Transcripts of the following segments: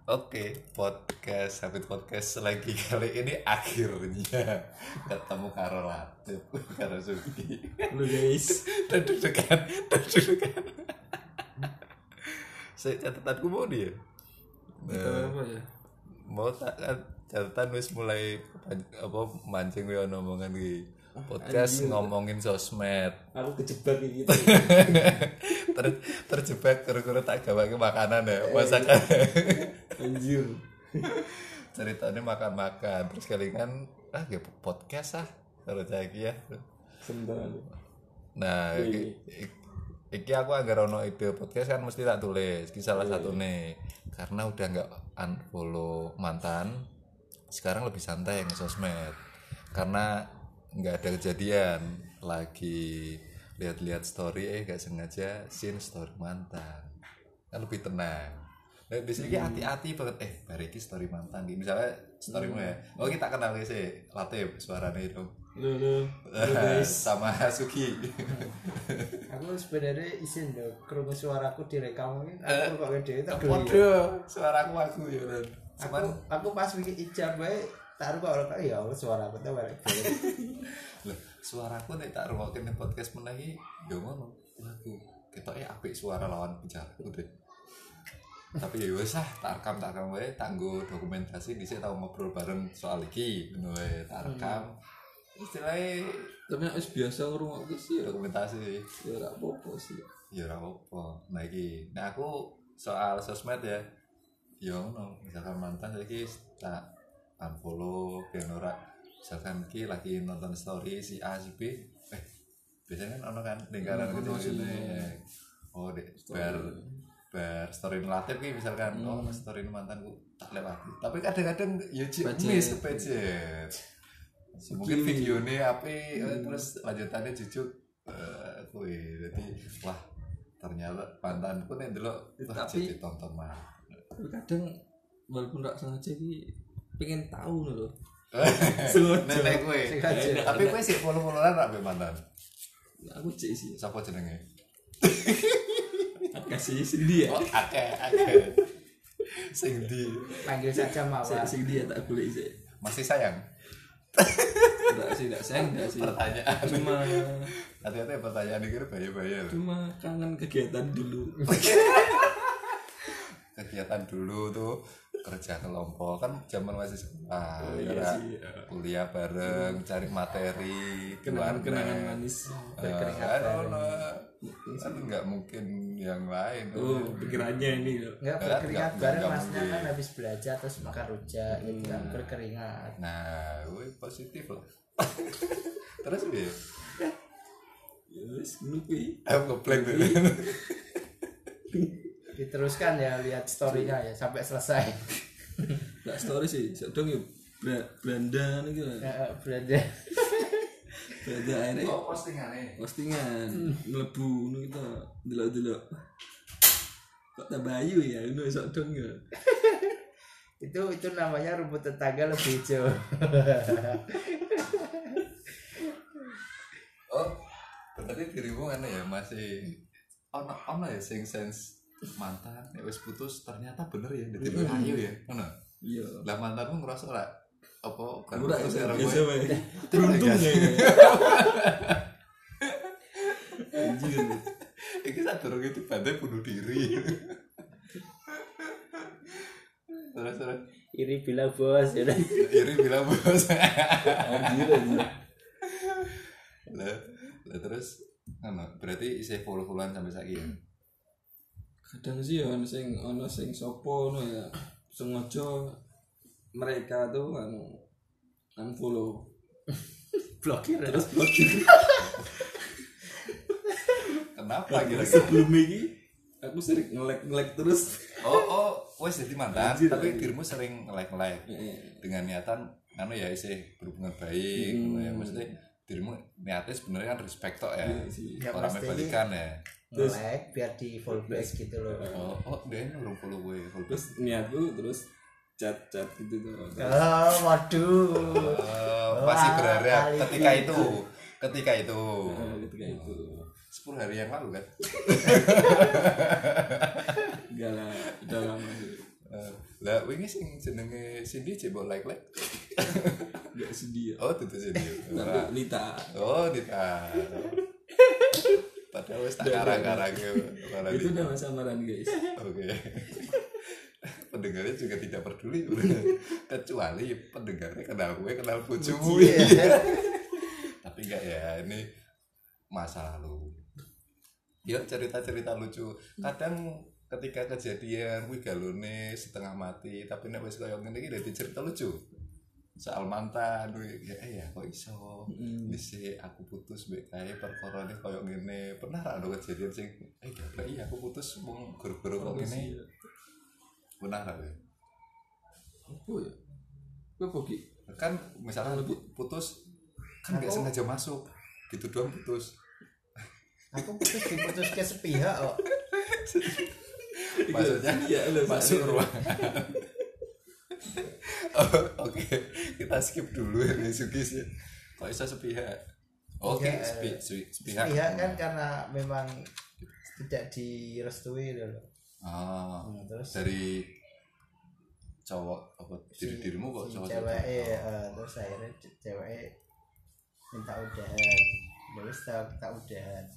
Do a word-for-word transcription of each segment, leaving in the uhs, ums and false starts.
Oke, podcast Habit Podcast lagi kali ini akhirnya ketemu karo Latif, karo Sugi. Lu guys, Dan deg-degan, dan deg-degan. Saya catatanku mau dia. kita apa ya? Mau tak kan catatan wis mulai apa mancing we ono omongan iki. Podcast Anjir. ngomongin sosmed. Aku kejebak gitu. Ter, terjebak kira-kira tak gawe makanan ya, masakan. Anjir. Ceritanya makan-makan terus kelingan ah ya podcast ah kalau lagi ya. Sebentar. Nah, iki, iki aku anggar ono ide podcast kan mesti tak tulis. Iki salah satu nih. Karena udah nggak unfollow mantan, sekarang lebih santai yang sosmed. Karena nggak ada kejadian lagi lihat-lihat story eh gak sengaja sin story mantan. Kan lebih tenang. Nah, biasanya hati-hati banget eh bariki story mantan gitu. Misalnya storymu ya. Oh, kita kenal sih. Latif suaranya itu. Lu lu. Lu guys. Sama Sugi. Aku sebenarnya izin loh, kerungu suaraku direkam ini. Aku kok gede tak dulu. Waduh, suara aku aku ya. Aku Cuman aku pas bikin ijab bae taruh kok orang ya Allah suara aku tuh balik. loh, suaraku nek tak rungokke ning podcast meneh iki yo ngono. Waduh, ketoke apik suara lawan bicaraku deh. Tapi ya wis ah, tak rekam tak rekam wae, tak nggo dokumentasi dhisik tau ngobrol bareng soal iki, ngono wae, tak rekam. Istilahnya Tapi nek wis biasa ngrungokke sih ya dokumentasi sih. ya ora apa-apa sih. Ya ora apa. Nah iki, nah aku soal sosmed ya. Ya ngono, misalkan mantan saiki tak unfollow ben ora misalkan iki lagi nonton story si A si B eh biasanya kan ono kan lingkaran Hmm, gitu ono sih. sini. Oh, dek bar bar story Latif ki misalkan oh story mantanku tak lewati. Tapi kadang-kadang ya cik Budget. miss budget. Mungkin videonya api eh, terus lanjutannya jujuk eh kuwi. Jadi wah ternyata mantanku nek ndelok wah Tapi- jadi tonton mah. Tapi kadang walaupun ora sengaja iki pengen tahu lho. Nenek kowe. Sengaja. Tapi kowe sik follow-followan ra mbek mantan. Aku cek sih. Sapa jenenge? Kasih sendiri ya. Oh, akeh akeh. Sing di Panggil saja Mawar. Sing dia tak boleh sih. masih sayang. Enggak sih, enggak sayang enggak sih. Pertanyaan. Cuma Hati-hati pertanyaan iki bahaya-bahaya loh. cuma kangen kegiatan dulu. Kegiatan dulu tuh kerja kelompok kan zaman masih sekolah Oh, ya iya kan? sih, ya. Kuliah bareng cari materi Kenangan-kenangan keluarga. manis. Berkeringat kan bareng. ono. Kan nggak mungkin yang lain Oh, pikirannya ini loh. Enggak Enggak, berkeringat enggak, bareng enggak masnya mungkin. kan habis belajar terus makan rujak gitu kan berkeringat. nah woi positif loh. Terus piye Ya wis ngono kuwi. aku ngeblank tuh. Diteruskan ya lihat story-nya ya sampai selesai. Enggak story sih, sedang ya Bra- Belanda nih gitu. Ya, belanja. Belanda akhirnya Oh, postingannya postingan mlebu ngono gitu. Delok-delok. Kok tak bayu ya ngono sok dong ya. itu itu namanya rumput tetangga lebih hijau. oh berarti dirimu kan ya masih ono ono ya sing sense mantan nek wis putus ternyata bener ya dadi ayu ya ngono. Iya. Lah mantanmu ngerasa ora apa kan Ora putus ya karo biasa kowe? wae. Teruntung ya. Anjir. Iki sadurunge dibandai bunuh diri. Terus terus Iri bilang bos ya udah. Iri bilang bos. Anjir anjir. Lah, lah terus ngono, berarti isih follow-followan sampai saiki ya. Kadang sih ya ono sing ono sing sopo no ya sengaja mereka tuh anu unfollow Blokir ya. terus blokir. Kenapa kira-kira? Sebelum ini aku sering nge-like-nge-like terus. Oh, oh, wes jadi mantan, Anjir, tapi anjir. dirimu sering like-like dengan niatan anu ya isih berhubungan baik, Hmm. ngono ya. Maksudnya dirimu niatnya sebenarnya kan respect tok ya. Iya sih. Ya, Orang pasti. balikan ya. Nge-like biar di follow back gitu loh. Oh, oh, dia urung follow gue, follow Terus niatku terus chat-chat gitu tuh. Oh, waduh. Oh, masih Wah, berharap kali ketika itu. itu, ketika itu. Nah, ketika itu. sepuluh hari yang lalu kan. Enggak lah, udah lama sih. Lah wingi sing jenenge Cindy cebok like-like. Enggak sedih. Oh, itu Cindy. Tapi Lita. Oh, Dita. Padahal wis tak karang-karang Itu nama samaran guys. Oke. Pendengarnya juga tidak peduli kecuali pendengarnya kenal gue kenal bojomu. Tapi enggak ya, ini masa lalu. Ya cerita-cerita lucu. Kadang ketika kejadian kuwi galone setengah mati, tapi nek wis koyo ngene iki dadi cerita lucu. Soal mantan kuwi ya ya kok iso. Wis aku putus mbek kae perkarane koyo ngene. Pernah ra ono kejadian sing eh gak iya aku putus mung gara-gara kok ngene. Pernah ra kowe? Apa ya? Apa ki? Kan misalnya putus kan enggak sengaja masuk. Gitu doang putus. Aku putus diputus ke sepihak kok. Maksudnya ya, masuk ruangan. Oh, oke, okay. Kita skip dulu ya Sugis ya. Kok bisa sepihak? Oke, okay, sepi, sepi, sepihak. Sepihak kan karena memang tidak direstui loh. Oh, hmm, terus dari cowok apa si, diri dirimu kok si cowok cewek uh, terus akhirnya cewek minta udahan. Terus tak tak udahan.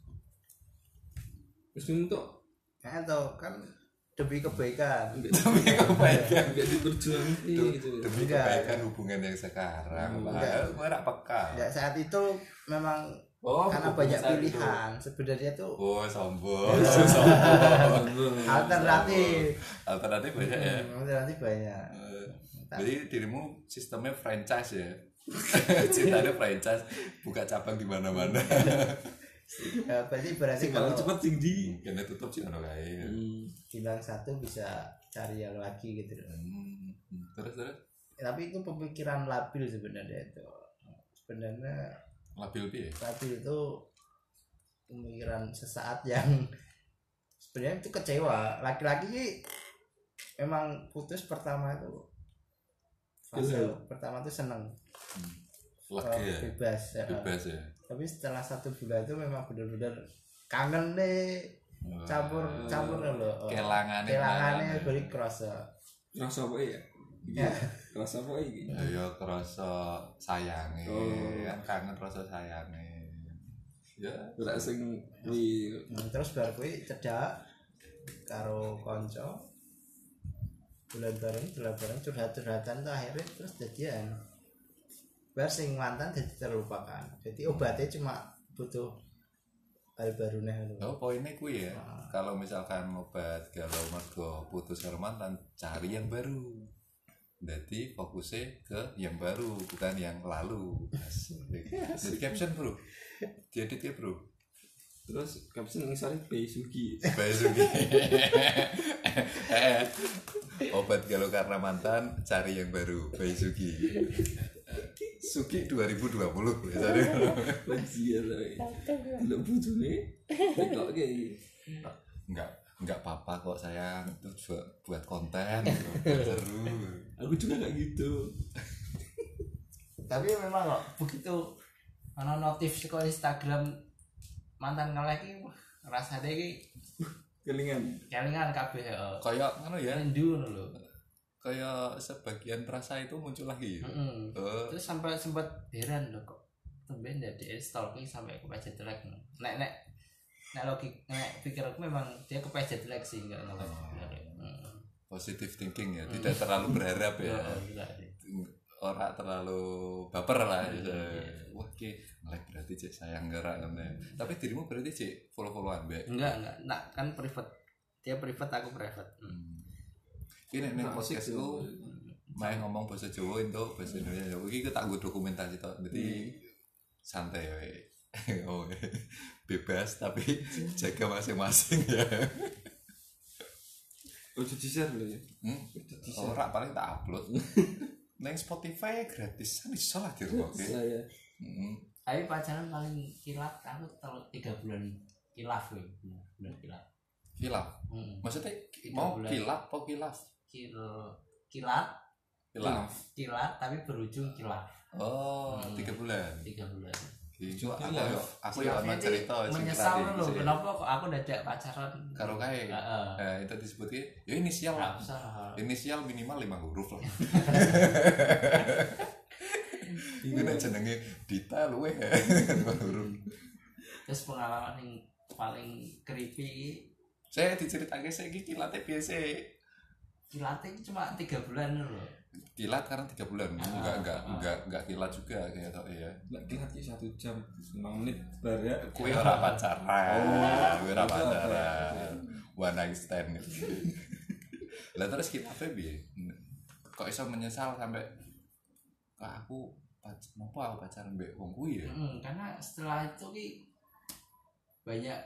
Terus untuk kan tau kan demi kebaikan demi kebaikan enggak diperjuangin gitu demi kebaikan hubungan yang sekarang padahal gue rak peka ya saat itu memang oh, karena banyak pilihan itu. Sebenarnya tuh oh sombong sombong alternatif alternatif banyak ya alternatif banyak uh, jadi dirimu sistemnya franchise ya cintanya franchise buka cabang di mana-mana. Ya, berarti berarti kalau cepat tinggi kena tutup sih ono kae. Hmm. Bilang satu bisa cari yang lagi gitu. Hmm. Terus terus. Ya, tapi itu pemikiran labil sebenarnya itu. Sebenarnya labil piye? Labil itu pemikiran sesaat yang sebenarnya itu kecewa. Laki-laki memang putus pertama itu fase pertama itu seneng. Hmm. Lega ya? Bebas ya. Bebas ya. Tapi setelah satu bulan itu memang benar-benar kangen deh campur campur loh kelangannya kelangannya beri kerasa kerasa apa ya ya kerasa apa ini ya kerasa sayangnya oh. Kan kangen rasa sayangnya ya ora sing kuwi terus bar kuwi cedak karo kanca bulan bareng bulan bareng curhat-curhatan tuh akhirnya terus jadian bar sing mantan jadi terlupakan. Jadi obatnya cuma butuh hal baru nih. Oh poinnya kuwi ya. Nah. Kalau misalkan obat galau mergo putus karo mantan, cari yang baru. Jadi fokusnya ke yang baru bukan yang lalu. Jadi caption bro. Diedit ya bro. Terus caption ngisari Bae Sugi. Bae Sugi. Obat galau karena mantan, cari yang baru. Bae Sugi. Suki dua ribu dua puluh biasanya. Lanjia lah. Tidak butuh nih. Tidak kayak enggak enggak apa-apa kok sayang, itu juga buat konten gitu. Seru. Aku juga kayak gitu. Tapi memang kok begitu ana notif saka Instagram mantan nge-like rasane iki kelingan. Kelingan kabeh heeh. Kayak ngono ya. Rindu ngono lho. Kayak sebagian rasa itu muncul lagi. Mm-hmm. Uh. Terus sampai sempat heran loh kok tumben dari stalking sampai kepencet like. Nek nek nek logik nek pikir aku memang dia kepencet like sih enggak nolak. Oh. Positive thinking ya, tidak mm. terlalu berharap ya. Orang terlalu baper lah ya. Wah, ki like berarti cek sayang gerak kan. Tapi dirimu berarti cek follow-followan, Mbak? Enggak, enggak. Nah, kan private. Dia private, aku private. Hmm. Ini nih podcast itu main ngomong bahasa Jawa itu bahasa Indonesia. Iki kita tak dokumentasi toh. Jadi hmm. santai ya. Oh, bebas tapi jaga masing-masing ya. Udah di-share lho ya. Hmm? Ora paling tak upload. Nang Spotify gratis. Kan iso lah dirungokke. Saya. Heeh. Tapi pacaran paling kilaf aku telur tiga bulan kilaf ya. Bulan kilaf. Kilaf. Hmm. Maksudnya mau kilaf atau kilaf? Kil kilat kilaf kilat tapi berujung kilaf. Oh, hmm. tiga bulan. Tiga bulan. Iku aku Iya. yo aku yo ono cerita sing menyesal tadi lho sih. kenapa kok aku dadak pacaran Karo kae. heeh Eh itu disebut ki ya inisial ora lah. usah Inisial minimal lima huruf lah. Iku nek jenenge Dita luwe lima huruf. terus pengalaman yang paling creepy iki Saya diceritake saiki kilate biasa. kilatnya cuma tiga bulan lho Kilat karena tiga bulan. Enggak enggak enggak enggak kilat juga kayak tok ya. Lek kilat ki satu jam lima menit bar ya. Kue ora pacaran. Oh, Kue ora itu apa ya? pacaran. One night stand. Lah terus kita piye? Kok iso menyesal sampai "Ah, aku pac nopo aku pacaran mbek wong kuwi ya? hmm, karena setelah itu ki banyak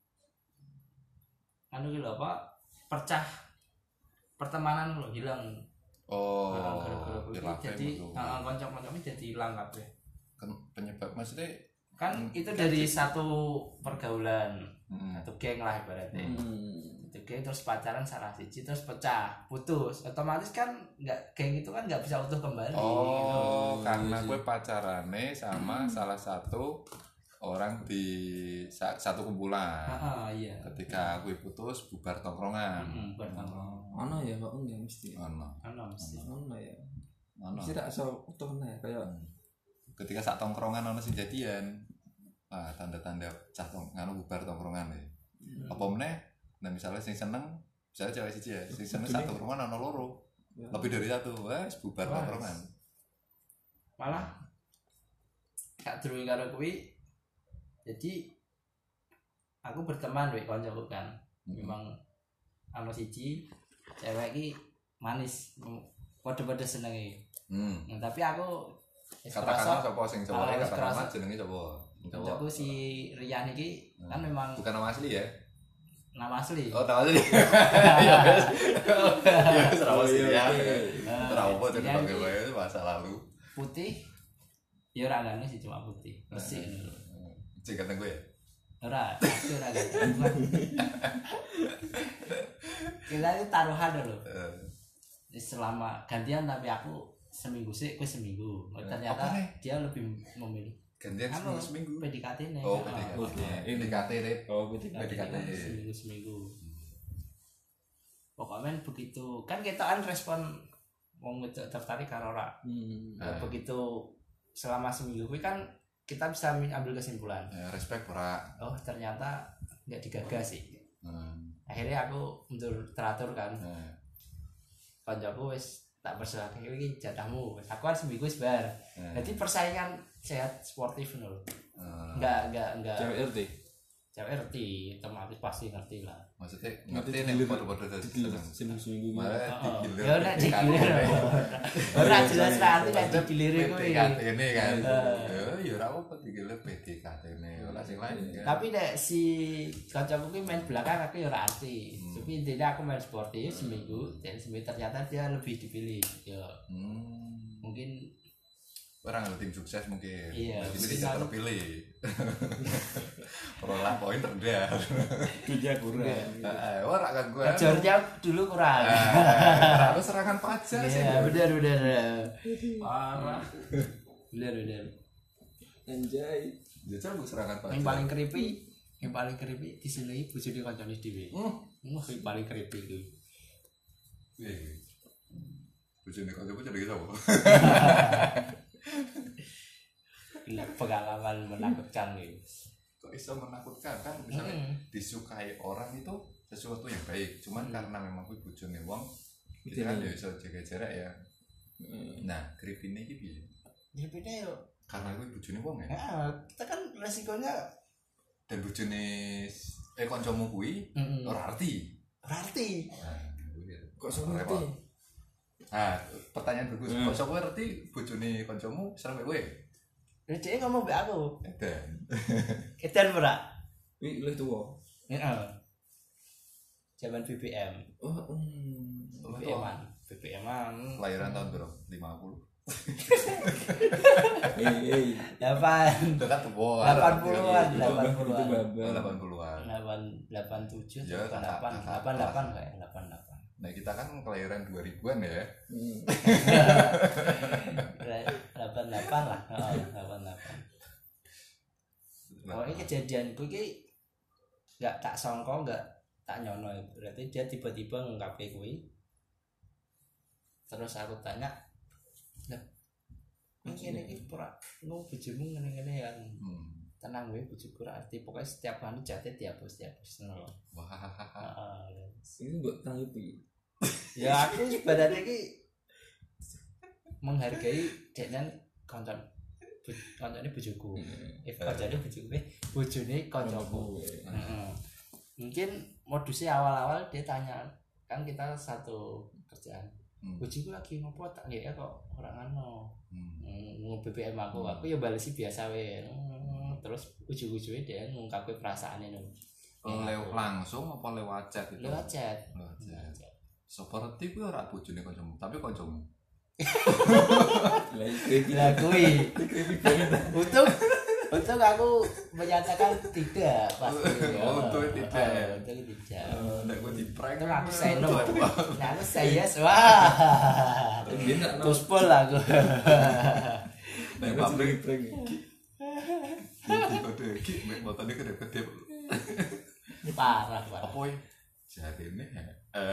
anu ki lho apa percah pertemanan lho hilang. Oh, Nah, gara-gara kuwi hilang jadi betul. heeh kanca-kanca jadi hilang kabeh. Kan penyebab maksudnya Kan Hmm, itu dari satu pergaulan, mm, satu geng lah ibaratnya. Hmm. Satu geng terus pacaran salah siji terus pecah, putus. Otomatis kan nggak geng itu kan nggak bisa utuh kembali gitu. oh, karena iya. gue pacarane sama salah satu orang di sa- satu kumpulan. Heeh, iya. Ketika gue putus bubar tongkrongan. Heeh, bertanggung. Ono ya kok enggak mesti. Ono. Ano mesti. Ono ya. Ono. Mesti tak iso utuh nih kayak Ketika sak tongkrongan ono sing jadian. Ah, tanda-tanda cah tong nganu bubar tongkrongan ya. Apa meneh? Nah, misalnya sing seneng, misalnya cewek siji ya, sing seneng sak tongkrongan ono loro. Ya. Lebih dari satu, wes bubar Wes. tongkrongan. Malah gak durung karo kuwi. Jadi aku berteman wek kancaku kan. Memang anu siji cewek iki manis, padha-padha senenge. Hmm. Nah, tapi aku wis Katakanlah kerasa- sapa sing cowok Ah, wis katakanlah kerasa. jenenge sapa? Cowok. kancaku si Rian iki kan memang Bukan nama asli ya? nama asli. Oh, nama asli. Ya wes. Ya wes nama asli ya. Nah, Ora apa Rian cerita iki wae masa lalu. putih. Ya ora gane sih cuma putih. Bersih ngono lho. Cek kata gue ya. Ora, pasti ora ganteng. Kita itu taruhan dulu. Eh, Selama gantian tapi aku seminggu sih, aku seminggu. Ternyata apa nih? dia lebih memilih gantian Anu, seminggu seminggu. P D K T nih. Oh, Ah, P D K T. Oke. P D K T Rip. oh berarti P D K T. seminggu seminggu. Pokoknya begitu kan kita kan respon wong wedok tertarik karo ora. Hmm. Nah, Ah. begitu selama seminggu kuwi kan kita bisa ambil kesimpulan. Ya, respect ora. Oh ternyata nggak digagas sih. Hmm. Akhirnya aku mundur teratur kan. Nah, Kancaku wis tak persilahkan iki jatahmu. Wis aku kan seminggu wis bar. nah, Jadi persaingan sehat sportif nul. eh, Enggak enggak enggak. Cewek R T. Cewek ngerti, otomatis pasti ngerti lah. maksudnya Ngerti ngerti nih digilir. foto-foto dari Digilir seneng. seminggu seminggu gitu. Malah Heeh. digilir. Ya nek P D K T. digilir. Ora jelas nanti nek Maksudnya digilir kuwi. P D K T ini kan. Heeh. Ya, ya ora apa digilir P D K T ini. Ora sing lain kan. Tapi nek si kancaku ki main belakang aku ya ora arti. Hmm. Tapi intinya aku main sportif seminggu dan seminggu ternyata dia lebih dipilih. Ya Hmm. mungkin Orang ada tim sukses mungkin. Iya, Jadi mungkin tidak aku- terpilih. Perolehan poin rendah. Duitnya kurang. Eh, ora kan gue. ngejornya dulu kurang. Terlalu serangan pajak sih. Iya, benar benar. Parah. Benar benar. Anjay. Jajal bu serangan pajak. Yang paling creepy, yang paling creepy di sini bojone kancane dhewe. Hmm. Wah, yang paling creepy itu. Wih. Bojone kok coba jadi sapa? Ini pengalaman menakutkan nih. Kok iso menakutkan kan misalnya Hmm. disukai orang itu sesuatu yang baik. Cuman Hmm. karena memang kuwi bojone wong Gitu kita kan nih. ya iso jaga jarak ya. Hmm. Nah, creepy-ne iki piye? Creepy-nya yuk. Karena kuwi bojone wong ya. Nah, kita kan resikonya Dan bojone s- eh kancamu kuwi mm ora arti. berarti. Nah, kuwi ya. Kok iso Repot. ngerti? Nah, pertanyaan bagus. Hmm. Kok sapa ngerti bojone kancamu seneng kowe? Dia ngomong be aku. Edan. Edan ora? Wih, lu tua. Heeh. Zaman B B M. Oh, hmm. B B M-an. B B M-an. Kelahiran tahun berapa? lima puluh. Eh, eh. delapan Dekat tuwa. delapan puluhan, Itu delapan itu puluhan. babak. delapan puluhan. delapan delapan tujuh Ya, delapan kakak- delapan kakak delapan kelas. delapan kayak delapan delapan. Nah, kita kan kelahiran dua ribuan ya. Hmm. delapan delapan lah. Oh, delapan delapan. Pokoknya kejadian gue ki nggak tak songko, nggak tak nyono. Berarti dia tiba-tiba ngungkapin gue. Terus aku tanya, lah, ini ini pura, nggak bujumu ngene-ngene yang Hmm. tenang gue bujuku arti pokoknya setiap hari jatuh dihapus dihapus nol. Wah. Ini buat tanggapi. Ya aku sebenarnya ki menghargai dengan konten kontennya bujuku. Eh kontennya bujuku, eh bujune koncoku. Heeh. Mungkin modusnya awal-awal dia tanya, kan kita satu kerjaan. Hmm. Bujuku lagi ngopo tak ya kok orang ano. Hmm. Nge B B M aku, aku ya balesi biasa wae. Hmm, terus ujug-ujugnya dia ngungkapin perasaannya no. Lewat langsung apa lewat chat itu? Lewat chat. Lewat chat. Seperti kuwi ora bojone kancamu, tapi kancamu. Lah kuwi. Untuk untuk aku menyatakan tidak pasti. Oh, untuk tidak. Untuk tidak. Nek gue di prank. Itu aku say no. Nah, aku say yes. Wah. Terus pol aku. Nek pabrik prank. Iki kode iki mek motone gede-gede. Parah, parah. Apa ya? Jarine ya.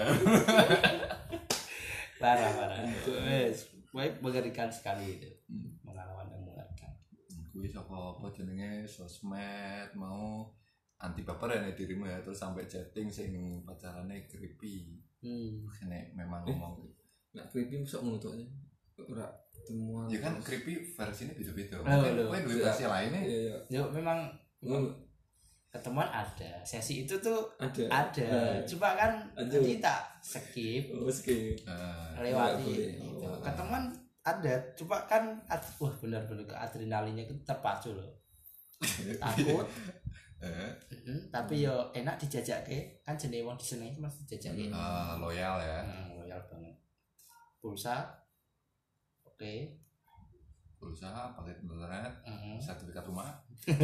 Parah, parah. Wes, baik mengerikan sekali itu. Pengalaman yang mengerikan. Kuwi saka apa jenenge sosmed mau anti baper ya dirimu ya terus sampai chatting sing pacarane creepy. Hmm. Nek memang ngomong Nek creepy sok ngono to. Ora temuan. ya kan creepy versinya beda-beda. Oh, Mungkin loh. kowe duwe versi lainnya. Iya, iya. Yo memang Oh, ketemuan ada. Sesi itu tuh ada. ada. Nah, Cuma kan Ada. kita skip oh, skip. Eh, lewati. Nggak boleh. Gitu. Oh. Ketemuan ada. Cuma kan ad- wah benar-benar ke adrenalinnya itu terpacu loh. Takut. eh, Mm-mm, tapi yo enak dijajak ke kan jenis wong disenengi mesti dijajak ke. eh, loyal ya. Hmm, loyal banget. Pulsa. Oke. Berusaha pakai internet, Mm-mm. sertifikat rumah.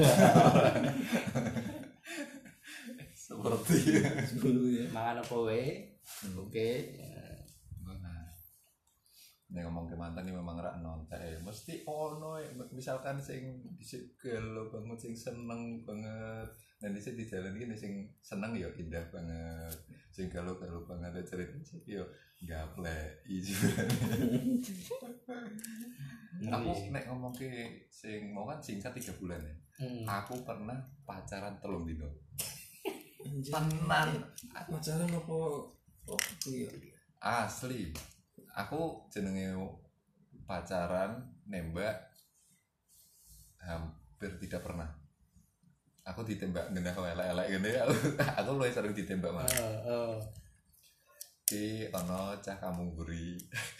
Seperti Sebelum ya. Mangan apa wae. Oke. nah, nek ngomong ke mantan ini memang rak nontek ya. Mesti ono ya. Misalkan sing dhisik gelo banget sing seneng banget. Dan dhisik di jalan iki sing seneng ya indah banget. Sing gelo-gelo banget ada cerita sih yo gaplek iki. Aku nek ngomong ke sing mau kan singkat tiga bulan ya. Hmm. Aku pernah pacaran telung dino. Anjir. Tenan. Pacaran apa? Oh, iya. Asli. Aku jenenge pacaran nembak hampir tidak pernah. Aku ditembak gendah elek-elek gini. Aku aku luwih sering ditembak malah. Oh, oh. Ki ono cah Kamungguri.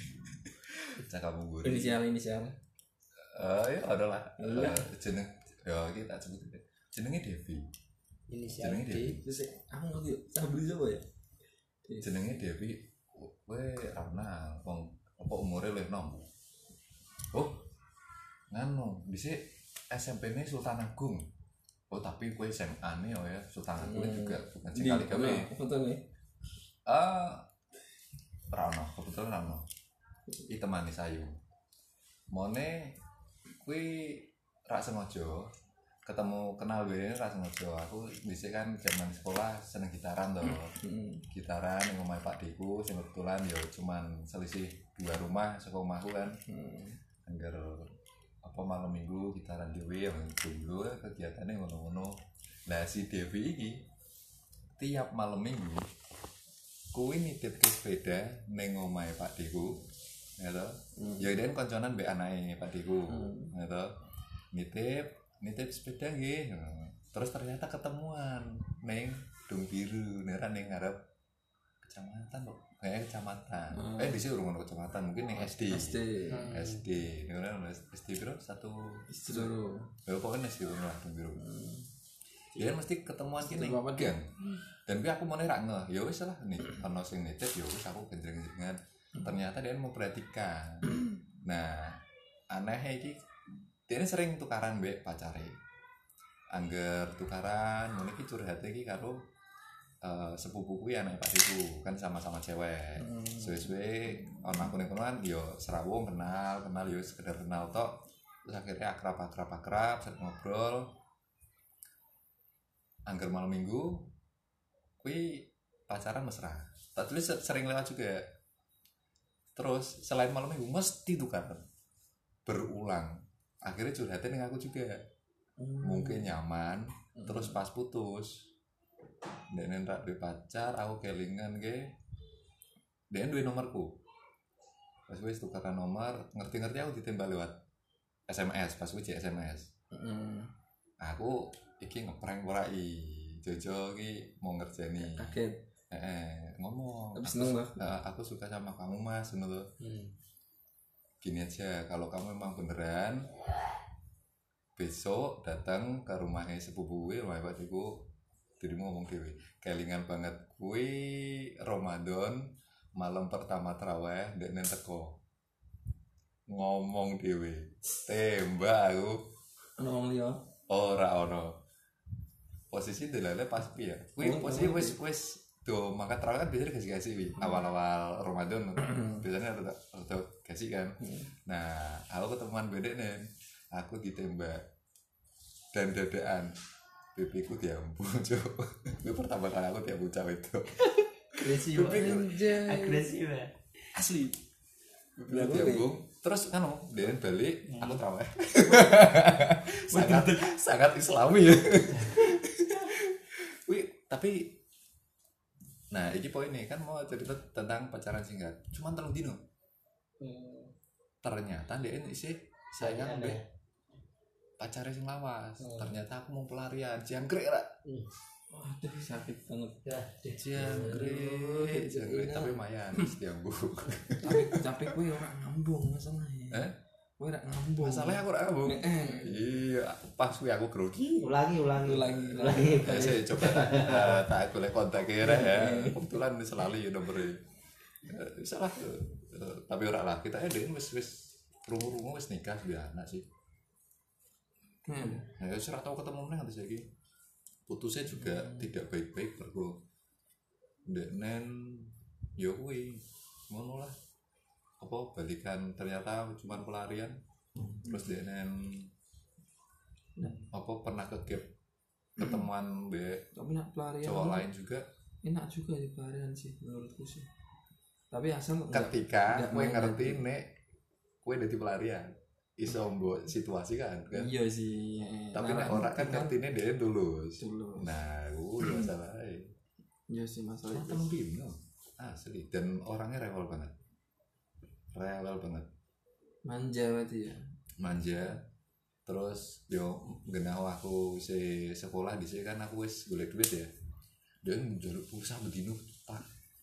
Cah Kamungguri. Inisial inisial. Eh ya adalah Lah. jeneng ya kita sebut itu. Jenenge Devi. Inisial Jenenge D. Devi. Terus aku ngerti saya beli apa ya? Jenenge Devi. Kowe ra kenal wong apa umure luwih nom. Oh. Nganu, dhisik S M P-ne Sultan Agung. Oh, tapi kowe S M A-ne oh ya Sultan Agung Hmm. juga bukan sing kali gawe. Foto nih. Ah, ra ono, kebetulan ra ono. Iki temane sayu. Mone kuwi ra sengaja ketemu kenal gue ra sengaja. Aku dhisik kan zaman sekolah seneng gitaran to. Heeh. Gitaran yang omahe Pak Deku sing kebetulan ya cuman selisih dua rumah saka omahku kan. Hmm. Angger apa malam minggu gitaran dhewe yang dulu kegiatannya ngono-ngono. Lah si Devi iki tiap malam minggu kuwi nitipke sepeda ning omahe Pak Deku. Ya to. Hmm. Ya den konconan mbek anake Pak Deku. Hmm. Ya to. Nitip nitip sepeda nggih. Terus ternyata ketemuan ning Dung Biru, nera ning ngarep kecamatan kok. Kayak kecamatan. Hmm. Eh dhisik urung ono kecamatan, mungkin ning S D. S D. Hmm. S D. Ning ono S D piro? Satu. Istro. Ya pokoknya S D urung lah Dung Biru. Hmm. Dia mesti ketemuan ki ning Satu apa, gang. Dan kuwi aku meneh ra ngeh. Ya wis lah nih, ono sing nitip ya wis aku genjreng-genjrengan. Ternyata dia memperhatikan. Nah, aneh iki dia sering tukaran mbek pacare. Angger tukaran, ngono iki curhate iki karo uh, sepupu kuwi anake Pak Deku, kan sama-sama cewek. Hmm. Suwe-suwe ono aku ning kono kan yo serawung kenal, kenal yo sekedar kenal tok. Terus akhirnya akrab-akrab-akrab, sering ngobrol. angger malam minggu kuwi pacaran mesra. Tak tulis sering lewat juga. Terus selain malam minggu mesti tukar berulang. Akhirnya curhatin dengan aku juga. Hmm. Mungkin nyaman, hmm. terus pas putus. Dene ndak duwe pacar, aku kelingan ge. Dene duwe nomorku. Pas wis tukaran nomor, ngerti-ngerti aku ditembak lewat S M S, pas wis S M S. Heeh. Hmm. Aku iki ngeprank ora i. Jojo iki mau ngerjeni. Kaget. Eh, ngomong tapi seneng lah uh, aku suka sama kamu mas menurut hmm. gini aja kalau kamu memang beneran besok datang ke rumahnya sepupu gue rumah pacarku dirimu ngomong dewe kelingan banget gue Ramadan malam pertama tarawih dan teko ngomong dewe tembak aku ngomong dia ora ono posisi delale pas piye kuwi posisi wis wis tuh maka terawih kan biasanya kasih-kasih wi awal-awal Ramadan biasanya ada ada kasih kan nah aku ketemuan bedek nih aku ditembak dan dadaan pipiku diambung cok itu pertama kali aku diambung cewek itu agresif agresif ya asli pipiku diambung terus kan dia balik aku terawih sangat sangat islami ya wih tapi nah, ini poin nih kan mau cerita tentang pacaran singkat. Cuman telung dino. Hmm. Ternyata dia ini sih saya ambil pacaran sing lawas. Hmm. Ternyata aku mau pelarian, jangkrik lah. Hmm. Waduh sakit banget. Ya, jangkrik, jangkrik tapi lumayan diambung. Tapi tapi gue orang ngambung masalahnya. Eh? Gue ora ngambung. Masalahnya aku ora ngambung. Iya, pas gue aku grogi. Ulangi, ulangi, ulangi, ulangi. Ya, saya coba uh, tak boleh kontak kira ya. Kebetulan selalu ya nomornya. Uh, salah. Uh, tapi ora lah kita ada wis wis rungu-rungu wis nikah sudah anak sih. Hmm. Ya wis ora tau ketemu meneh nganti saiki. Putusnya juga hmm. tidak baik-baik mergo ndeknen yo kuwi ngono lah. Apa balikan ternyata cuma pelarian hmm. terus dia nen nah. apa pernah ke gap ketemuan be tapi nak pelarian cowok lain juga enak juga di pelarian sih menurutku sih tapi asal ketika gue ngerti nek gue udah di pelarian iso mbok situasi kan kan iya sih tapi nek orang kan ngertine dia lulus dulu nah gue masalah iya sih masalah itu dino asli dan orangnya rewel banget rewel banget manja berarti ya manja terus yo genah aku si sekolah di sini kan aku wis golek duit ya dan njaluk pulsa bedino tak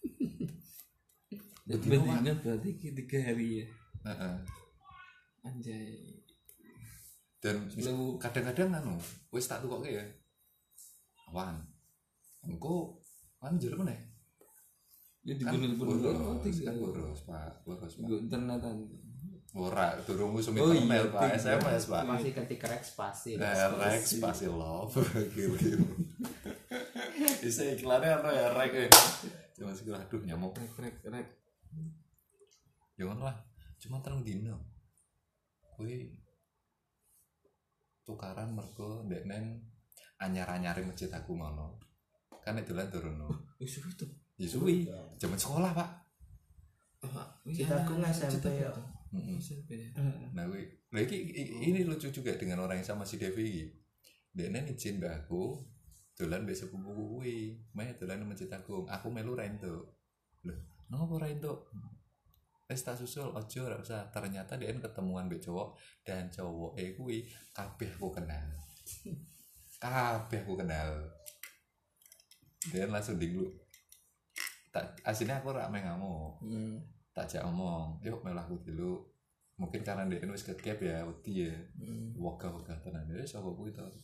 bedino berarti tiga hari ya heeh anjay dan kadang-kadang anu wis tak tukoke ya awan engko kan jero meneh ya dibener-bener kan boros pak boros pak internetan ora durung usum internet pak S M S pak masih ketik rek spasi rek spasi love gitu bisa iklannya apa ya rek eh cuma segala aduh nyamuk rek rek rek jangan lah cuma terang dino kui tukaran mergo ndeknen anyar-anyare masjid aku ngono kan itulah turun wis itu ya suwi zaman sekolah pak kita aku S M P ya nah gue lagi ini lucu juga dengan orang yang sama si Devi dia izin mbak aku dolan besok buku gue main dolan masjid agung aku melu rento loh nopo rento wis tak susul ojo ora usah ternyata dia ketemuan mbek cowok dan cowok eh kuwi kabeh aku kenal kabeh aku kenal dia langsung dinglu tak aslinya aku ora main ngamuk hmm. tak jak omong yuk melaku dulu mungkin karena dia wis kegap ya wedi ya hmm. wogah-wogah tenan ya sapa kuwi to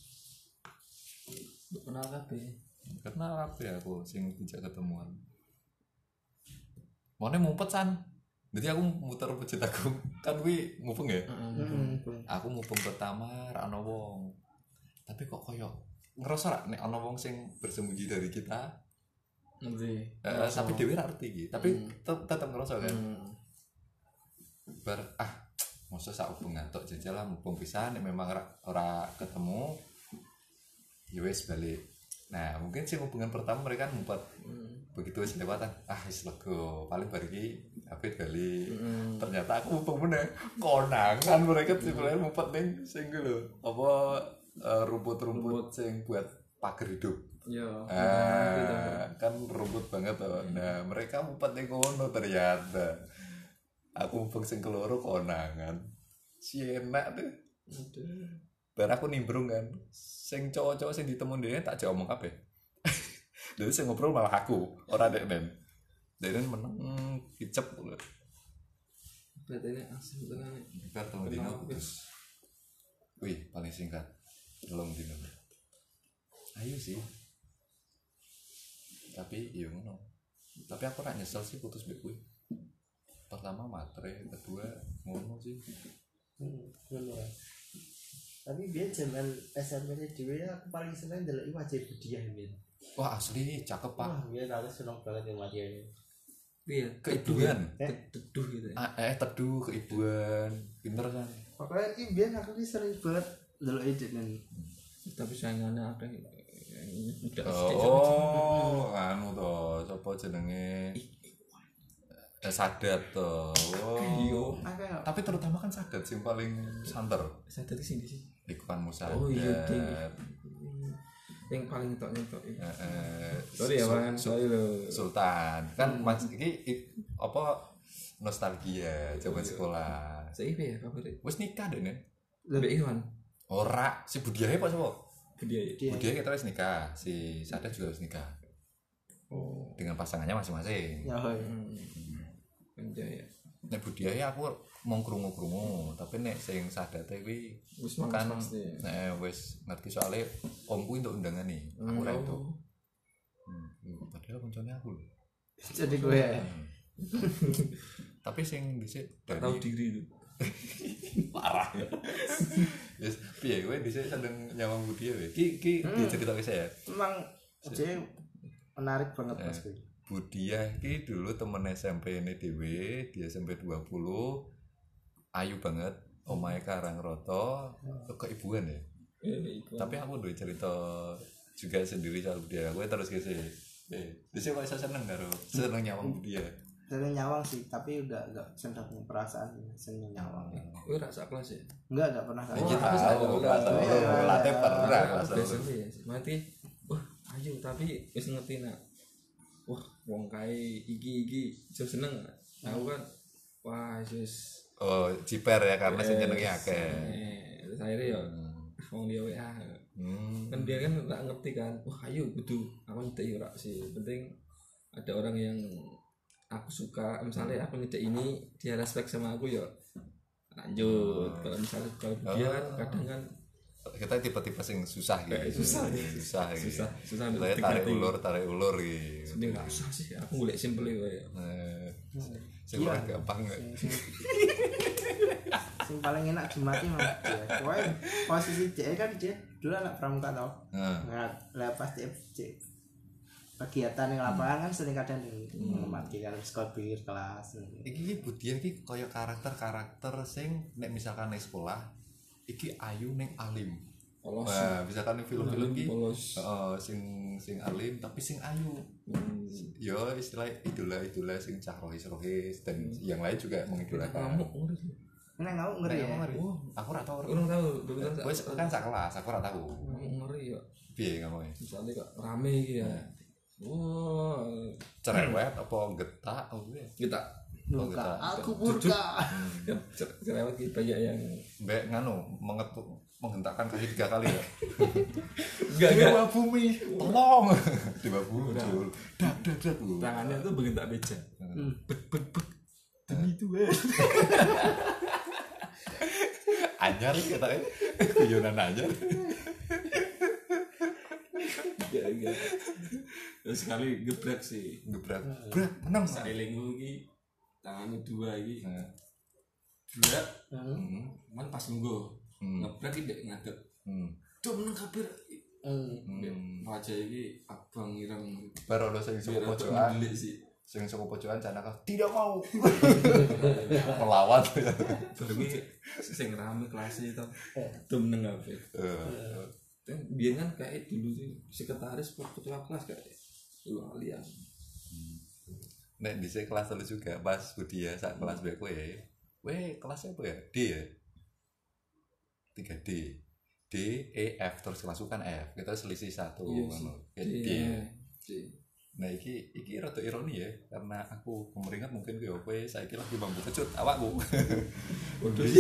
kenal kabeh kenal kabeh aku sing dijak ketemuan mone mumpet san jadi aku muter masjid aku kan kuwi mupeng ya mm-hmm. aku mupeng pertama ra ono wong tapi kok koyo ngerasa ra nek ono wong sing bersembunyi dari kita ngerti uh, tapi dhewe ra ngerti iki tapi mm. tetep ngerasa kan mm. bar ah mosok sak hubungan tok jajal lah mumpung pisan nek memang ora ora ketemu ya wis balik Nah mungkin sih hubungan pertama mereka ngumpet hmm. begitu wis lewatan ah wis lego paling bar iki H P bali Hmm. ternyata aku mumpung meneh konangan mereka sebenarnya ngumpet ning sing ku lho apa eh, rumput-rumput sing buat pagar hidup. Ya Ah, kan rumput banget tuh. Nah mereka ngumpet ning kono ternyata aku mumpung sing keloro konangan si enak tuh. Aduh. Bar aku nimbrung kan sing cowok-cowok sing ditemu dene tak jawab omong kabeh. Dadi sing ngobrol malah aku, ora deknen. Deknen meneng kicep lho. Berarti ini asli tenan. Bar telu dino putus. Wih, paling singkat. Telung dino. Ayo sih. Tapi iya ngono. Tapi aku ora nyesel sih putus mbek kuwi. Pertama matre, kedua ngono sih. Hmm, ngono ae. Tapi dia zaman S M P dhewe aku paling seneng ndeloki wajib Budiah Min. Wah, asli cakep, Pak. Wah, dia aku seneng banget sama dia ini. Iya, Keibuan. Eh, teduh gitu ya. Ah, eh teduh keibuan. Pinter kan. pokoknya iki biyen aku ki sering banget ndeloki Deknen. Tapi sayangannya ada yang udah Oh, anu to, sapa jenenge? Eh, Sadat to. Oh. Akeh kok. Tapi terutama kan Sadat sing paling santer. sadar di sini sih. Iku kan Musa. Oh iya ding. Yang paling tok nyetok. Heeh. Sorry ya Bang, sorry lho. Sultan. Kan Mas iki i- apa nostalgia zaman sekolah. Seipe ya kabar. Wis nikah deh, Nen. Lebih Iwan. Ora, si Budiahe apa sapa? Budaya. Dia Budiahe kita wis nikah, si Sadat juga wis nikah. Oh. Dengan pasangannya masing-masing. ya hoy. Hmm. Penjaya. Nek Budiahe aku mau krungu-krungu, tapi nek sing Sadate kuwi Wis kan mangkas pasti. nek wis ngerti soalnya omku untuk undangan nih. Aku ora itu. Oh. Hmm, padahal koncone aku lho. Jadi gue ya. Tapi sing dhisik Tak dari tahu diri lu. parah. Yes, piye kowe dhisik seneng nyawang Budiahe kowe? Ki ki diceritake saya. Emang jadi menarik banget pas gue. Budiah ki dulu temen S M P ini dhewe, di S M P dua puluh ayu banget, omahe Karangroto, keibuan ya. Eh, iku. Tapi aku duwe cerita juga sendiri soal Budiah. Kowe terus ki sih. Eh, dhisik kok iso seneng karo seneng nyawang Budiah. Sering nyawang sih, tapi udah enggak seneng perasaan seneng nyawang. Kowe ra sak kelas ya? Enggak, enggak pernah Iki kayak. aku tahu tahu, kelas tahu. telu, late pernah kelas telu. Biasanya ya. Mati. Wah, ayo tapi wis ngerti nak. Wah, wong kae iki-iki iso seneng. Aku kan wah wis Oh, ciper ya karena sing nyenengi akeh. Eh, terus akhirnya ya wong dia W A. Hmm. Kan dia kan nggak ngerti kan. Wah, ayo kudu aku nyedek ora sih. Penting ada orang yang aku suka, misalnya aku nyedek ini dia respect sama aku ya lanjut. Kalau misalnya kalau dia kan kadang kan Kita tipe-tipe sing susah gitu. Eh, susah, ya. Susah gitu. susah susah Saya ngerti tarik hati. ulur, tarik ulur gitu. Ini nggak usah sih, aku golek simple ya. Eh, sing ora gampang nggak? Sing paling enak dimati mah dia. Pokoknya posisi dia kan dia dulu anak pramuka tau. Heeh. Nah, lah pas dia dia kegiatan yang lapangan kan sering kadang mengamati kan sekolah pikir kelas. Iki iki Budiah iki kaya karakter-karakter sing nek misalkan ning sekolah iki ayu ning alim. Polos. Nah, misalkan ning film-film iki Polos. heeh sing sing alim tapi sing ayu. Hmm. Yo istilah idola-idola sing cah rohis-rohis dan yang lain juga mengidolakan. Kamu ngeri. Ini ngau ngeri Nek ya. ngomong ngeri. Oh. Aku ora tau. Aku tahu, betul Wes kan sak kelas, aku ora tau. ngeri ya. Piye ngomongnya? Misalnya kok rame gitu ya. Wah, Cerewet apa getak apa piye? kita Oh, Murka. kita. Aku murka. ya cerewet gitu banyak yang Mbak nganu mengetuk menghentakkan kaki tiga kali ya. enggak enggak Dewa bumi, tolong. Dewa bumi. Dak dak dak. tangannya tuh bentak beja. Hmm. Bet bet bet. Demi Tuhan. Anyar kita eh guyonan anyar. Enggak enggak. Terus sekali gebrak sih. Gebrak. Gebrak menang. Sailingku iki tangannya dua iki. Nah, Gebrak, Hmm. hmm, man pas nunggu. hmm, Ngebrak iki ndek ngadeg. hmm, Tuh menang kabir. Hmm. hmm. Raja iki abang ireng. Baru lo sing saka Biar pojokan, delik sih. sing saka pojokan Canaka tidak mau melawan. Baru iki sing rame kelas itu. Tuh menang kabir. Eh, kan biar kan kayak dulu tuh sekretaris ketua kelas kayak dua kalian. Nek di kelas telu juga pas Budia saat kelas B ku ya. Weh, kelasnya apa ya? D ya. tiga D. D, E, F terus kelas kan F. Kita selisih satu ngono. Kayak D. D. Nah, iki iki rada ironi ya karena aku kemeringat mungkin kowe kowe saiki lagi mampu kecut awakku. Waduh.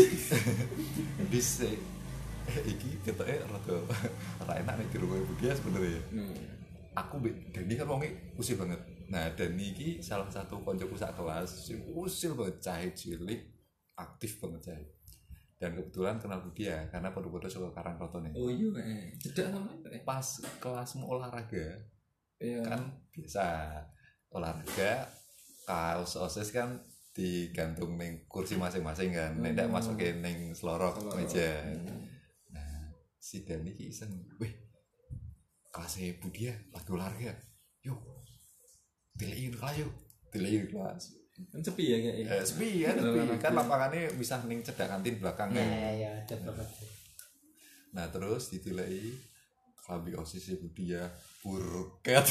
Dis iki ketoke rada ora enak nek dirungokne Budia sebenarnya. Hmm. Aku Dani kan wonge usil banget. Nah, Dani iki salah satu koncoku sak kelas sing usil banget, cahit cilik, aktif banget cahit. Dan kebetulan kenal Budia karena podo-podo saka Karangrotone. Oh iya, eh. Cedak sama eh. Pas kelasmu olahraga. Iya. Kan biasa olahraga kaos OSIS kan digantung ning kursi masing-masing kan. Nek ndak masukin ning selorok meja. Hmm. Nah, si Dani iki iseng, "Weh, kelasnya Budia lagi olahraga. Yuk. Dilein kelas yuk. Dilein kelas." Kan sepi ya kayak eh, sepi ya sepi kan lapangannya bisa ning cedak kantin belakang kan ya ya ada banget. Nah terus ditilai klambi OSIS Budia burket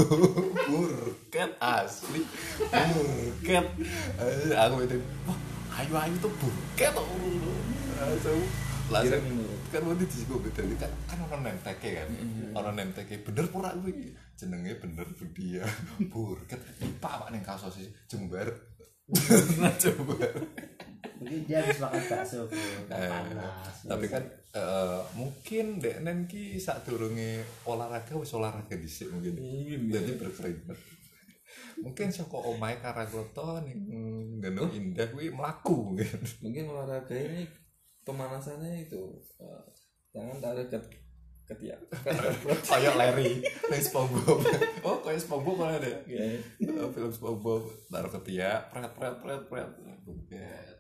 burket asli burket aku itu wah ayu ayu tuh burket langsung langsung kan mau disebut betul kan kan orang nemteke kan orang nemteke bener pura gue jenenge bener Budia burket pak pak neng kaos OSIS jembar jembar mungkin dia habis makan bakso panas tapi kan uh, mungkin dek nen ki sak durunge olahraga wis olahraga dhisik mungkin jadi berkeringat mungkin saka omahe Karangroto ning Gendong Indah kuwi mlaku mungkin mungkin olahraga ini pemanasannya itu uh, tangan tarik ke ketiak kayak Larry ning SpongeBob oh kayak SpongeBob mana deh yeah. Film SpongeBob taruh ketiak pret pret pret pret buket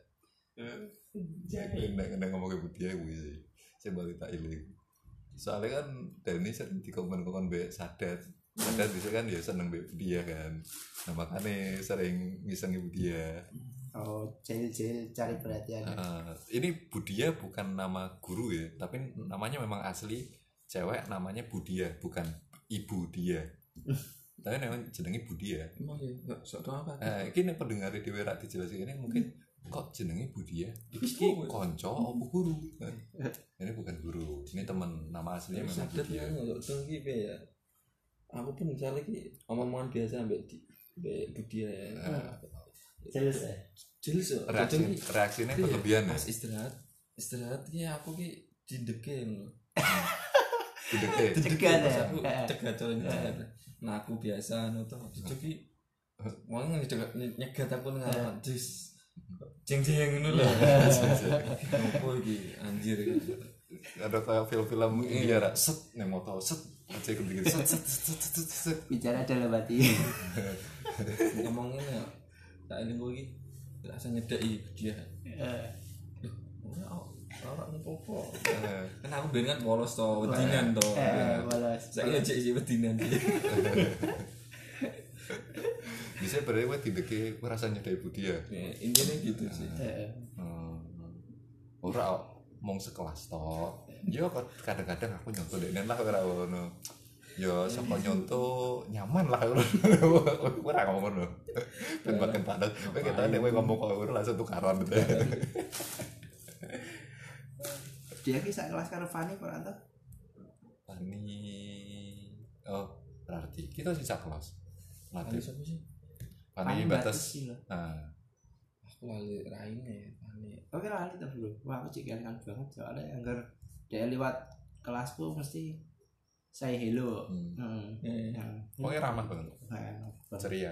jadi nek ngomong Budia kuwi sih saya balik tak iling soalnya kan Dani sering dikongkon-kongkon mbek Sadat Sadat bisa kan ya seneng mbek Budia kan nah makanya sering ngisengi Budia. Oh, cil-cil cari perhatian. Uh, ini Budia bukan nama guru ya, tapi namanya memang asli cewek namanya Budia, bukan Ibu Dia. Tapi memang jenenge Budia. Emang ya, enggak sok tau apa. Eh, iki nek pendengar dhewe ra dijelasin ini mungkin kok jenenge Budia? Iki kanca apa guru? Ini bukan guru, ini teman, nama aslinya memang Budia. Sadar iki ya. Aku pun misalnya ki omong-omongan biasa mbek mbek Budia ya. Jelas ya. Jelas ya. Reaksi reaksinya berlebihan ya. Pas istirahat, istirahat ya aku ki dideke ngono. Dideke. Cegat ya. Aku cegat colong. Nah aku biasa no to. Jadi wong nyegat aku nang ngarepan jus. Jeng-jeng ngono lho. Opo iki anjir iki. Ada kayak film-film India ra set ning motor set aja ketik set set set set bicara dalam hati. Ngomongin ya tak eling iki rasa nyedeki dia. Heeh. Ora ora ngopo-opo. Kan aku ben kan polos to, wedinan to. Heeh, polos. Saiki aja isi wedinan iki. Bisa berarti kowe dideke kowe rasa nyedeki Budia. Ya, intinya gitu sih. Heeh. Hmm. Ora mong sekelas to. Yo kadang-kadang aku nyontoh denen lah ora ngono. Yo sapa nyontoh nyaman lah ora ngomong ngono. Ben makan panas. Kowe ketok nek kowe ngomong kok ora langsung tukaran. Dia ki sak kelas karo Fani kok ora. Fani oh berarti kita sih sak kelas. Fani sapa sih? Fani batas. Nah. Aku lali raine ya Fani. Oke lali to dulu. Wah aku cek kan banget soalnya anggar dia lewat kelasku mesti say hello. Heeh. Hmm. Heeh. Pokoknya ramah banget. Heeh. Ceria.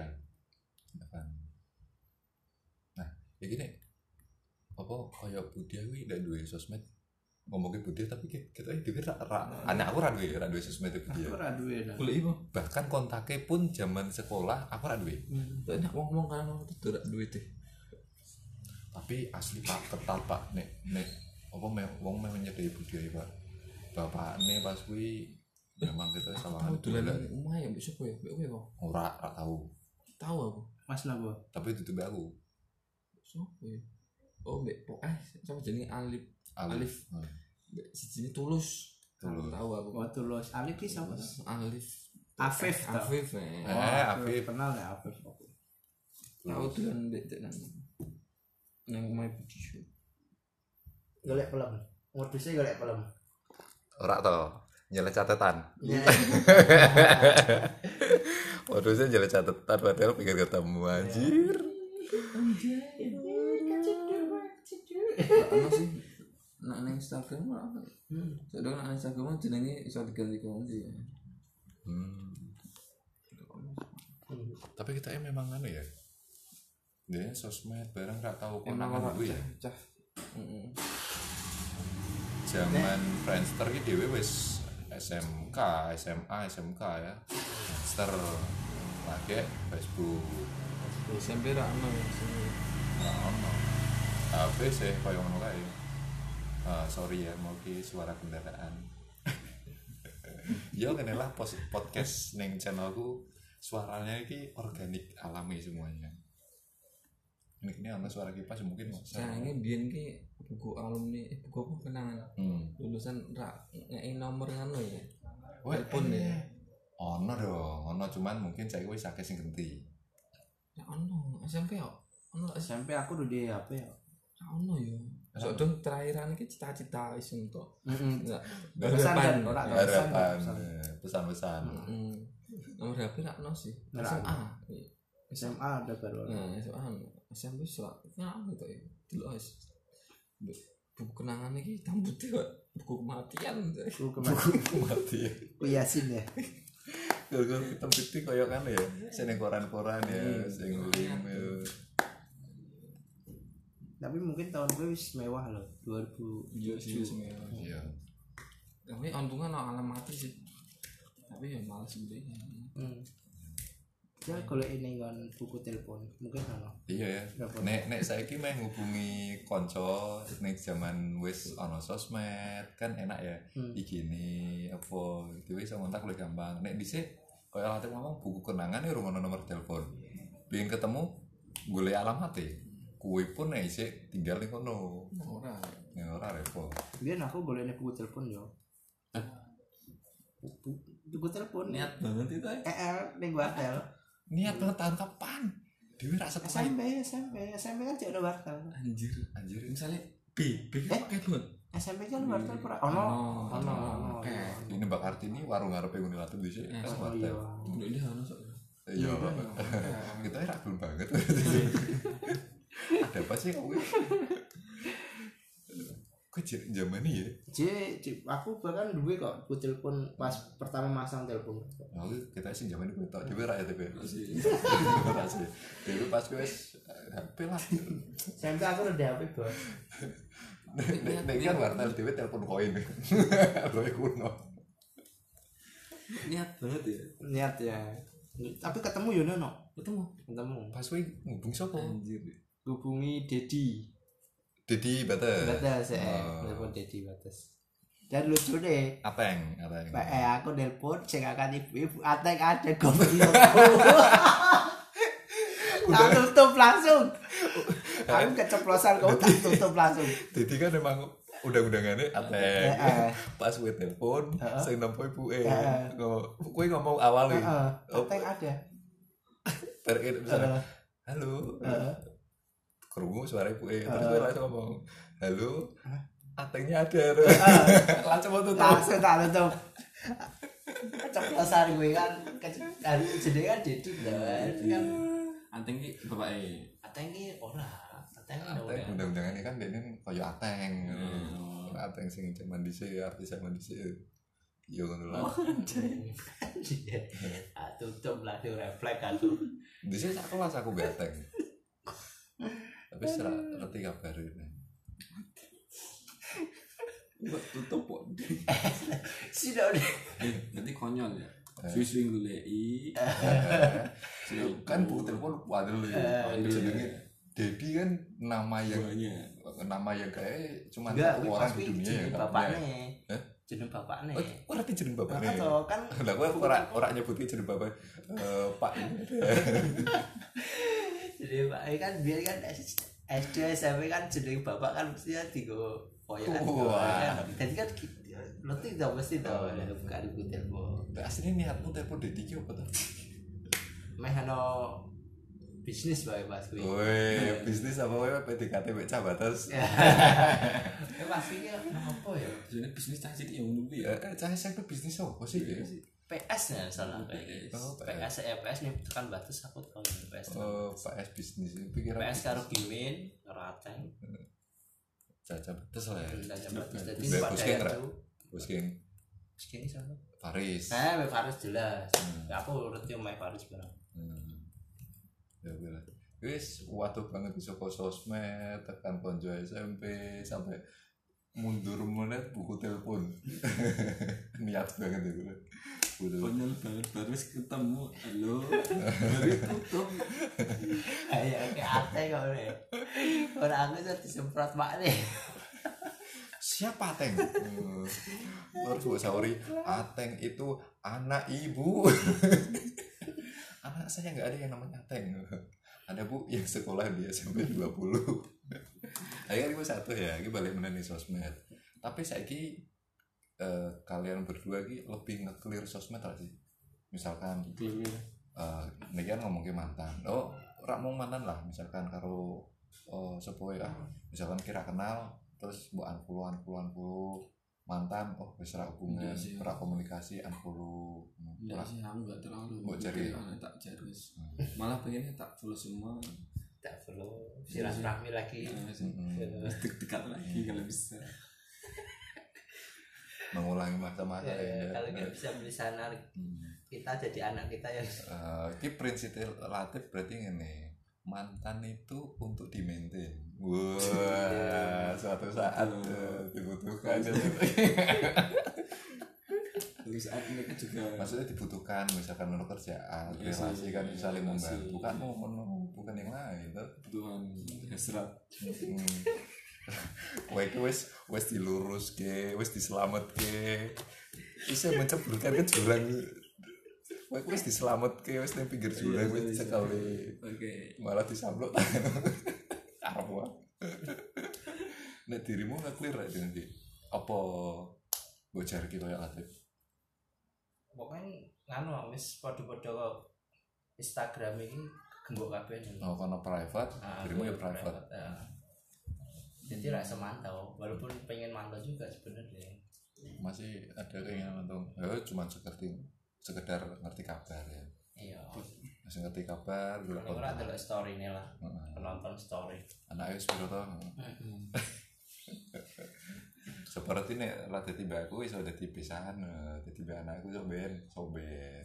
Nah, ya gini. Apa kaya Budia kuwi ndak duwe sosmed. Ngomongin Budia tapi kita iki dhewe ra anak aku ra duwe, ra duwe sosmed Budia. Aku ra duwe. Golek iku. Bahkan kontaknya pun zaman sekolah aku ra duwe. Heeh. Nek ngomong kan tuh ra duwe teh. Tapi asli Pak ketat Pak nek nek apa wong meh nyedeki Budia Pak. Bapakne pas kuwi memang kita sama dolan omah ya mbek sapa ya? Mbek kowe kok. Ora ora tahu. Tahu aku. Mas napa? Tapi itu mbek aku. Sopo ya? Oh mbek po eh sapa jenenge Alif. Alif. Mbek sijine Tulus. Tulus. Tahu aku. Oh, Tulus. Alif ki sapa? Alif. Afif. Afif. Eh, Eh, Afif. Kenal ya Afif. tahu dolan ndek nang nang omahe budi. Golek pelem. Modusnya golek pelem. Ora to, nyelek catatan. Modusnya nyelek catatan padahal pikir ketemu anjir. Ono sih. Nak nang Instagram apa? Hmm. Sedang nang Instagram jenenge iso diganti-ganti. Hmm. Tapi kita ya memang anu ya. Dia sosmed bareng gak tahu konangan dulu ya. Cah. Heeh. Zaman Friendster ki dhewe wis S M K, S M A, S M K ya. Friendster pakai Facebook. S M P ra ono ya sini. Nah, ono. H P sih koyo ngono kae. Ah, sorry ya mau ki suara kendaraan. Yo kene lah podcast ning channelku suaranya iki organik alami semuanya. Ini ini ana suara kipas mungkin sayangnya biyen ki buku alumni eh, buku apa kenangan hmm. lulusan ra ngeki nomor ngono ya telepon ya ono dong ono cuman mungkin saya wis akeh sing ganti ya ono S M P yo ono S M P aku udah di H P ya ono yo sok dong terakhiran iki cita-cita wis entuk heeh pesan dan ora harapan pesan-pesan heeh nomor H P ra ono sih S M A S M A ada baru nah S M A S M P surat ngapa to ya delok wis buku kenangan iki tambute kok buku kematian buku kematian ku Yasin ya gara-gara hitam putih koyo kan ya sing koran-koran ya sing lim ya tapi mungkin tahun gue wis mewah loh dua ribu tujuh mewah iya tapi untungnya no alamat sih tapi ya malas gitu hmm. Ya kalau ini kan buku telepon mungkin ono. Iya ya. Nek nek saiki meh ngubungi kanca ning zaman wis ana sosmed kan enak ya. Hmm. Iki ni apa dhewe iso ngontak luwih gampang. Nek dhisik koyo ate ngomong buku kenangan ya rumah nomor telepon. Biyen ketemu golek alamat e. Kuwi pun nek isik tinggal ning kono. Ora. Ya ora repot. Biyen aku golekne buku telepon yo. Buku, buku telepon niat banget itu ya. E L ning hotel. Niat banget tahun kapan? Dewi rasa S M P, S M P, S M P kan cek ada wartel. Anjir, anjir. Misalnya B, B kan pakai banget. S M P kan wartel pura. Oh no, oh no, oke. Ini Mbak Kartini warung ngarepe Unilatif di sini. Oh iya. Ini dia ono sok. Iya. Kita era belum banget. Ada apa sih kamu? Kok zaman ini ya? Jadi aku bahkan dulu kok buat telepon pas pertama masang telepon. Oh, kita sih zaman itu tak dewe rakyat dewe. Masih. Dewe pas wes H P lah. Sampai aku udah H P bos. Nek kan wartel dewe telepon koin. Koin kuno. Niat banget ya. Niat ya. Tapi ketemu yo nono. Ketemu. Ketemu. Pas wes ngubung sapa? Anjir. Hubungi Dedi. Dedi Batas. Batas ya. Telepon Dedi Batas. Dan lucu deh. Ateng, ateng. Pak eh aku nelpon sing akan ibu-ibu ateng ada goblok. Tak tutup langsung. Aku keceplosan kau tak tutup langsung. Dedi kan memang undang-undangannya ateng. Pas gue telepon, sing nampa ibuke. Kowe ngomong awal iki. Ateng ada. Terus misalnya, halo. Kerungu suara ibu eh terus gue langsung ngomong halo atengnya ada langsung mau tutup langsung tak tutup keceplosan gue kan kan jadi kan Dedi kan ateng ki bapak e ateng ki ora ateng ateng undang-undangan ini kan dia ini kayak ateng ateng sing zaman dhisik artis zaman dhisik yo ngono lah tutup lah di refleks kan tuh dhisik sak kelas aku gateng tapi serak ngerti kabar ini buat tutup kok sudah deh nanti konyol ya swing dulu i kan buku telepon waduh ya jenenge Dedi kan nama yang nama yang kayak cuma satu orang di dunia ya bapaknya jeneng bapaknya oh ngerti jeneng bapaknya kan lah aku ora ora nyebutin jeneng bapak Pak jadi Pak kan biar kan S D S M P kan jeneng bapak kan mestinya digo koyokan. Jadi kan Lo tidak mesti tau ada buka di telepon. Aslinya niatmu telepon D tiga apa tuh? Meh ono bisnis bae pas kuwi. Woi, bisnis apa wae P D K T mek cah batas. Ya pasti ki apa ya? Jadi bisnis cah cilik ya ngono kuwi ya. Eh, cah S M P bisnis apa sih ya? P S ya salah kayak Oh, P S ya P S nih tekan batas aku tahu P S. Oh, P S bisnis. Pikiran P S karo Gimin karo Ateng. caca batas lah ya. Caca batas dadi Mbak pada Busking ra? itu. Busking Busking sama. Faris. Nah, Mbak Faris jelas. Aku urut yo Mbak Faris barang. Hmm. Ya udah. Wis waduh banget iso kok sosmed tekan konco S M P sampai mundur menit buku telepon. Niat banget itu. Udah. Konyol banget baru ketemu. Halo. Baru tutup. Ayo ke Ateng kok nih. Ora aku iso disemprot mak nih. Siapa Ateng? Terus gue sauri, Ateng itu anak ibu. Anak saya nggak ada yang namanya Ateng. Ada bu yang sekolah di S M P dua puluh. Ayo gue satu ya, gue balik menani sosmed. Tapi saya ki eh, kalian berdua ki lebih nge-clear sosmed lah sih. Misalkan eh nih kan ngomongin mantan. Oh, rak mau mantan lah. Misalkan karo oh, sepuh ah, misalkan kira kenal terus mbok unfollow unfollow unfollow mantan oh wis ra hubungan ora komunikasi unfollow Enggak sih, aku enggak terlalu. Mbok cari tak jarus. Malah pengennya tak follow semua. Tak follow silaturahmi lagi. Dekat lagi kalau bisa. mengulangi masa-masa Ya, ya. kalau nggak bisa beli sana kita jadi anak kita yang Uh, ini prinsip relatif berarti ini mantan itu untuk di maintain. Wah, suatu saat uh, dibutuhkan. Terus saat ini kan juga Maksudnya dibutuhkan, misalkan menurut kerjaan, Iya sih, relasi kan iya, saling relasi. membantu. Bukan mau bukan yang lain. Tuh. kebutuhan hasrat. Hmm. Wah itu wes wes dilurus ke, wes diselamat ke. Bisa menceburkan ke jurang. Wah wes diselamat ke, wes di pinggir jurang, wes sekali. Oke. Malah disamplok. Arwah. Nek dirimu nggak clear aja nanti. Apa bocor gitu ya Latif? pokoknya nganu wis padha-padha Instagram ini gembok kabeh nih. Oh karena private, Nah, dirimu ya aku private. ya. Jadi rasa mantau, walaupun pengen mantau juga sebenarnya. Masih ada keinginan untuk, ya cuma seperti sekedar ngerti kabar ya. Iya. Masih ngerti kabar, dulu Kalau ora delok story ini lah, penonton story. anaknya sepiro toh. Seperti nek lah dadi mbakku iso dadi pisahan, dadi mbak anakku iso ben, so ben.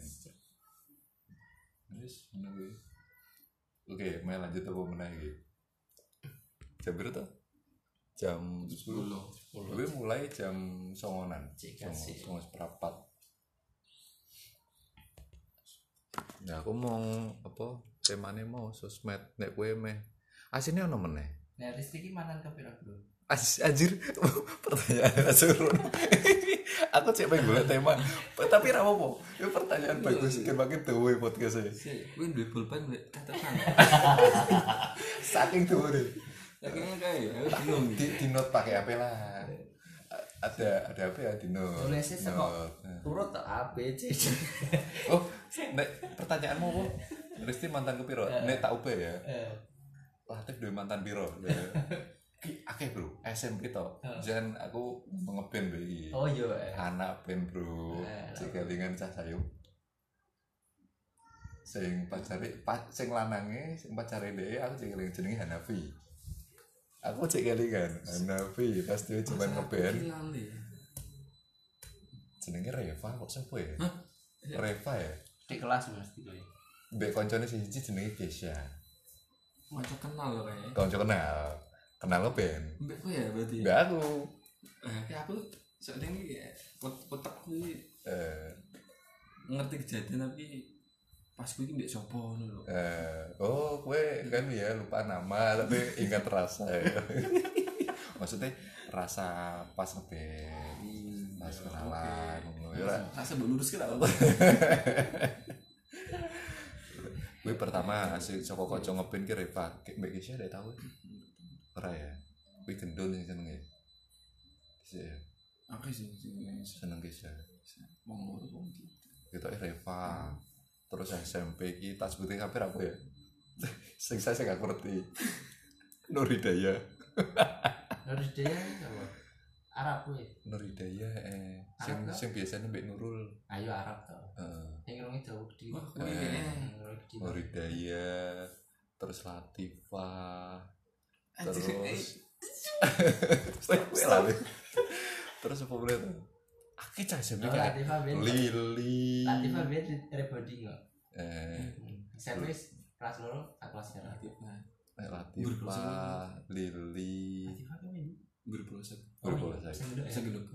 Wis ngono kuwi. Oke, mari lanjut apa meneh iki. Jam berapa toh? Jam sepuluh. Gue mulai jam songonan. Songo seperempat. Ya aku mau apa? Temane mau sosmed nek kowe meh. Asine ono meneh. Nah, Rizky iki mantan ke pira, Bro? Anjir, pertanyaan seru. Aku cek pengen golek tema, tapi ra apa-apa. Itu pertanyaan bagus, makin duwe podcast e. Kuwi duwe pulpen catatan. Saking duwe. Saking kae, aku bingung. Di, di note pakai apa lah. Ada ada apa ya di note. Tulisnya sekok turut tak A B C. Oh, nek pertanyaanmu apa? Risti mantan ke piro? Nek tak ubah ya. Latif duwe mantan piro? Ki akeh bro, S M P to. Jan aku ngeben lho iki. Oh iya. Anak band bro, cekelingan cah sayung. Sing pacare sing lanange, sing pacare dhek aku cekeling jenenge Hanafi. Aku cekelingan Hanafi pas dia cuma ngeband. Jenenge Reva kok sapa ya? Reva ya? Di kelas mesti kowe. Mbek koncone siji jenenge Kesha. Kanca kenal lho kae. Kanca kenal. Kenal lo Ben. Mbak kowe ya berarti. Mbak aku. Eh aku soalnya ini kotak kuwi Eh ngerti kejadian tapi pas kuwi mbek sapa ngono lho. eh oh kowe kan ya lupa nama tapi ingat rasa ya. Maksudnya rasa pas ngeband, pas kenalan ngono ya. Rasa mbok luruske tak apa. Kowe pertama asli saka kanca ngeband ki Reva, mbek Kesha ndak tau. Ora ya. Kuwi gendul sing senenge. Sik. Oke sih sing seneng kisah. wong loro wong iki. Kita Reva. Terus S M P ki tak sebutin kabeh apa ya? Sing saya sing gak ngerti. Nur Hidayah. Nur Hidayah apa? Arab kuwi. Nur Hidayah eh sing Arab, sing biasane Mbak Nurul. Ayo Arab to. Heeh. Sing ngrungi Dawud di. Wah, kuwi kene. Nur Hidayah, terus Latifah. Anjir, Terus Terus Terus apa boleh tuh? Aki cah S M P Oh, kayak Latifah Ben. Lili. Latifah Ben rebonding kok. Eh, Saya wis kelas loro, tak kelas sekarang. Latifah. Latifah, Lili. Latifah kan ini. Berproses. Berbola saya. Segenduk ya. Segenduk.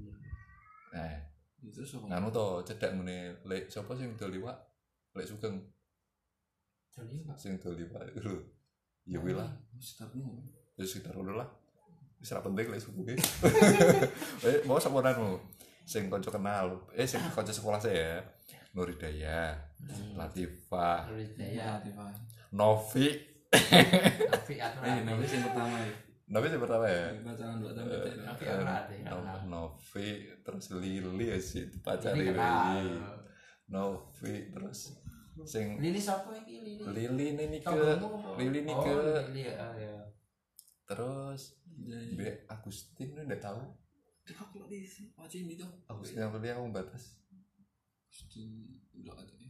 Eh, Terus apa? nganu to cedek ngene lek sapa sing dol liwak? Lek Sugeng Jadi Pak. sing dol liwak lho. Ya kuwi lah, Startmu. ya sekitar ngono lah. Wis ra penting lek suku. Eh, mau samonanmu. Sing kanca kenal, eh sing kanca sekolah saya. Nur Hidayah, Latifah, Nur Hidayah. Latifah. Novi. Tapi aku Eh, nabi sing pertama ya. Novi sing pertama ya. Pacaran dua tahun beda. Tapi aku ade. No- Novi terus Lili ya sih dipacari Ini Lili. kenal. Novi terus sing Lili sapa iki Lili? Lili ini nih ke Tonggomu apa? Lili nih Oh, ke Lili ya. ya. terus Iya, iya. Be Agustin lu udah tahu Aku lagi sih, wajib ini tuh. Agustin yang kuliah kamu batas Agustin udah ada ya.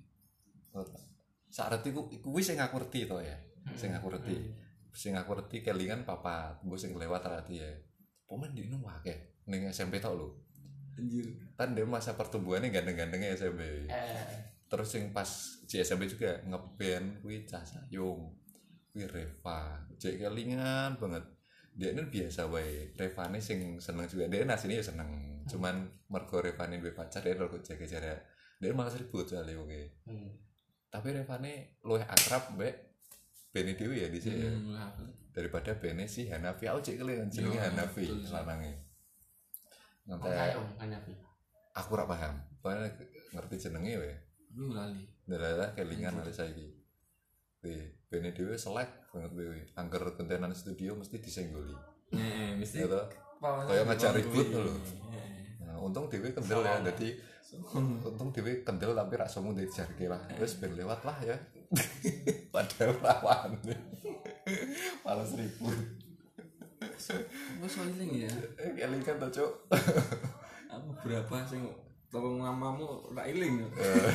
saat itu ku kuwi sing aku ngerti to ya sing aku ngerti sing aku ngerti kelingan papat mbok sing lewat rati ya pemain di nu akeh ning S M P tok lho Anjir. kan dia masa pertumbuhannya gandeng-gandengnya S M P Eh, terus yang pas di S M P juga ngeband kuwi Cah Sayung kuwi Reva cek kelingan banget dia ini biasa wae Revane sing seneng juga dia aslinya ya seneng cuman mergo Revane duwe pacar dia rada jaga jarak dia malah ribut soalnya oke hmm. tapi Revane luwih akrab mbek Bene Dewi ya di sini ya. Hmm, lah. Daripada Bene si Hanafi aku cek kelingan jenenge Yo, Hanafi betul. lanange Oh, nanti Kayong Hanafi. aku ora paham pokoknya ngerti jenenge wae Aku lali. dalah kelingan ada saiki. Wih, Bene dhewe selek banget wewe. Angger kontenan studio mesti disenggoli. Heeh, mesti. Ya toh? Kayak Kayak ngajak ribut lho. Nah, untung dhewe kendel ya. Dadi untung dhewe kendel tapi ra sombong dari jarke lah. Wis ben lewat lah ya. Padahal lawan. Malas ribut. Wes soalnya ya. Eh, kelingan to, Cuk. Aku berapa sing tolong mamamu ora iling.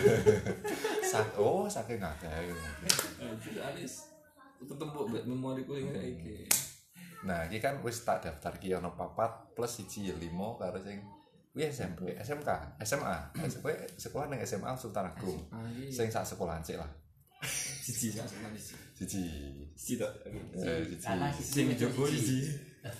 Sak oh, saking akeh. Anjir alis. Ketemu mbek memoriku sing saiki. Nah, iki kan wis tak daftar ki ono papat plus siji lima karo sing kuwi S M P, S M K, S M A. Kowe sekolah ning S M A Sultan Agung. Sing sak sekolahan sik lah. Siji sak sekolah siji. Siji. Siji tok. Eh, siji. Karena Sing jogo siji.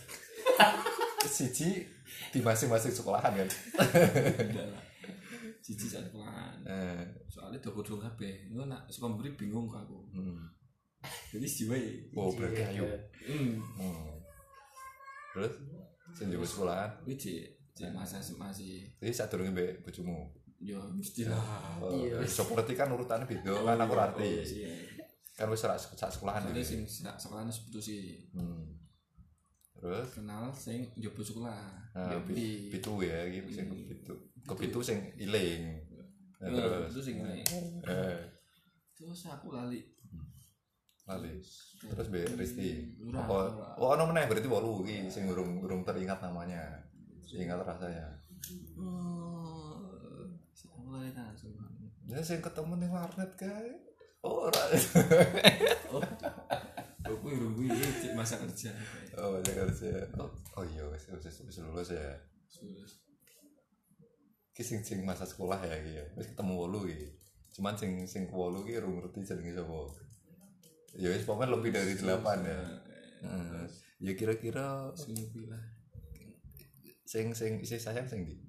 Siji di masing-masing sekolahan kan. Enggak lah. Siji sak sekolahan. Eh, Soalnya double kabeh. Engko nak sekolah mburi bingung kok aku. hmm. Jadi siji wae. Oh, berarti ayo. Hmm. Hmm. Terus sing jowo sekolahan. Kuwi cek cek masa S M A sih. Jadi sadurunge mbek bojomu. Ya mesti lah. Oh, Iya. seperti kan urutannya beda kan aku Oh, arti. iya. Kan wis sak sak sekolahan Soalnya iki. sing sak sekolahan wis putus sih. Hmm. Terus Kenal sing njobo sekolah. nah, Ya, pi- pi- pitu ya iki sing Hmm. pitu. Kepitu sing iling. Nah, Ya, terus terus sing ngene. eh Terus aku lali. lali. Terus Be Risti. Ora, Apa ora. oh ono meneh berarti wolu iki sing urung urung teringat namanya. Ingat rasanya. Oh, aku lali langsung. Ya sing ketemu ning warnet kae. Oh, ora. Oh, aku urung kuwi cek masa kerja. Oh, banyak kerja. Oh, oh iya wis wis wis lulus ya. Terus Ki sing sing masa sekolah ya iki ya. Wis ketemu wolu iki. Cuman sing sing wolu iki urung ngerti jenenge sapa. Ya wis pokoknya lebih dari delapan ya. Hmm. Ya kira-kira sing bilang sing sing isi sayang sing ndi?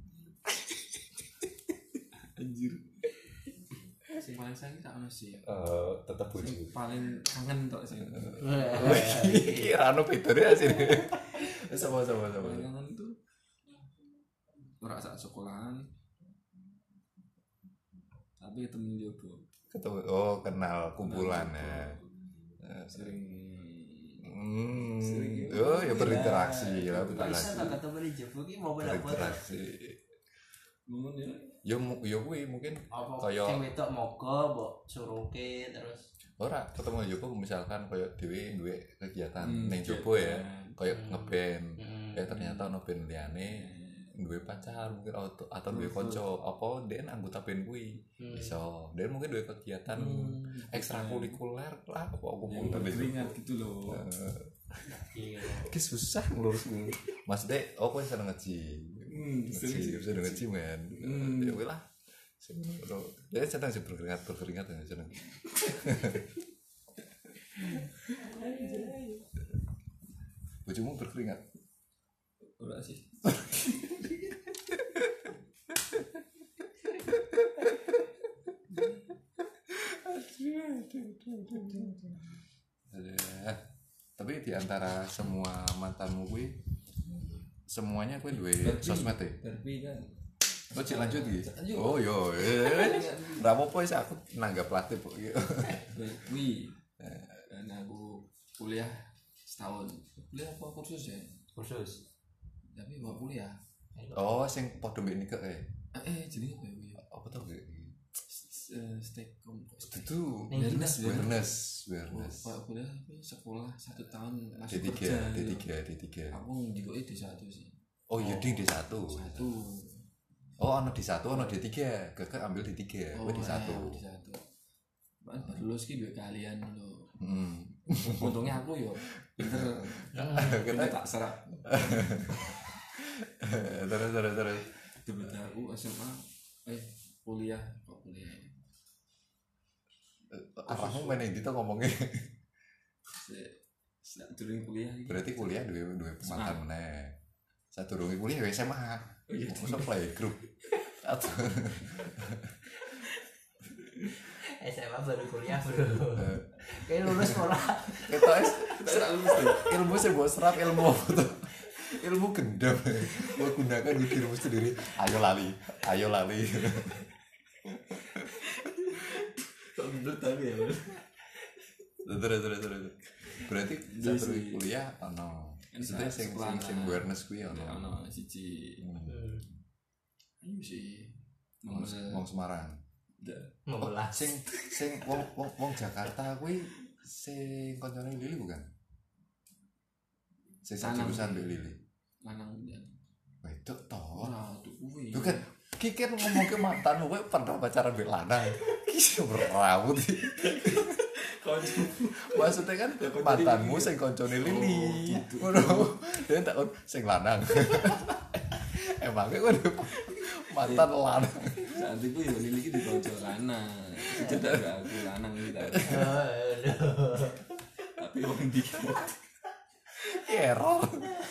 anjir. Sing paling sayang tak ono sih. Eh, tetep bojo. Sing paling kangen tok sing. Iki ra ono bedane asine. Wis sama-sama sama. Paling kangen itu ora sak sekolahan. Tapi temen jobo. Ketemu oh kenal kumpulan ya. Sering Hmm. Sering. Oh, ya ya berinteraksi lah, Kok bisa berinteraksi. tak ketemu di Jopo ki mau pada foto. Berinteraksi. Ngomong ya. Ya mu- ya kuwi mungkin Apa Kayak- sing wedok moga mbok suruhke terus. ora ketemu Joko misalkan koyo dhewe duwe kegiatan Hmm, ning Jopo ya, kegiatan. koyo Hmm. ngeband. Hmm. Ya ternyata ono band liyane duwe pacar mungkin atau, atau duwe kanca apa den anggota band kuwi. Hmm. Iso. Den mungkin duwe kegiatan Hmm, ekstrakurikuler lah apa aku yang berkeringat gitu loh. Iya. Ki susah ngurus kuwi. Mas Dek, oh kowe seneng nge-gym. Hmm, Nge-gym, seneng nge-gym kan. Hmm. Ya wis lah. Sing ngono. Ya seneng sih berkeringat, berkeringat ya seneng. Bojomu berkeringat. Ora sih. Eh, tapi di antara semua mantanmu kuwi semuanya kuwi duwe sosmed e. Tapi kan Oh, cek lanjut iki. Lanjut. Oh, yo. Ora apa-apa wis aku nanggap latih kok. wih dan aku kuliah setahun. Kuliah apa kursus ya? Khusus. Tapi mau kuliah. Oh, sing padha mbek nikah kae. Eh, jadi apa ya? Wi? Apa tau gak? Stekom. Itu Ning Awareness, awareness, awareness. Kalau kuliah tapi sekolah satu tahun D masuk tiga, kerja. D gitu. tiga, D tiga. Aku juga D satu sih. Oh, iya ding D satu. Satu. Oh, ono D satu, ono D tiga. Kakak ambil D tiga, kowe D satu. D satu. Bahkan baru lulus ki dua kalian lho. Hmm. Untungnya aku yo pinter. Kita tak serap. Terus terus terus. Tiba-tiba aku S M A eh kuliah kok kuliah. Arahmu main ndi to ngomongnya? Sak durung kuliah iki. Berarti kuliah duwe duwe mantan meneh. Sadurunge kuliah ya S M A. Oh iya, masa playgroup. Atau S M A baru kuliah bro. Kayak lulus sekolah. kita es Kita lulus tuh. ilmu sih buat serap ilmu apa tuh? Ilmu gendam. Mau gunakan di dirimu sendiri. Ayo lali, ayo lali. Kok bener tapi ya. Terus terus terus. Berarti Iya satu sih. kuliah ono. Maksudnya sing sing sing awareness kuwi ono. Ono siji. Hmm. Iya sih. Wong Nomor wong Semarang. Membelah. Sing sing wong wong wong Jakarta kuwi sing koncone Lili bukan? Sing sak Lanang. jurusan mbek Lili. lanang dan Wedok to. ora tuh kuwi. Lu kan Ki kan ngomong ke mantanmu kowe pernah pacaran mbek lanang. Ki berawut. Konco. Maksudnya kan mantanmu sing koncone Lili. Ngono. Dia tak kon sing lanang. Emangnya kowe mantan lanang. Saat itu ya Lili iki dikonco lanang. Cedak aku lanang iki ta. Tapi wong ndi Error.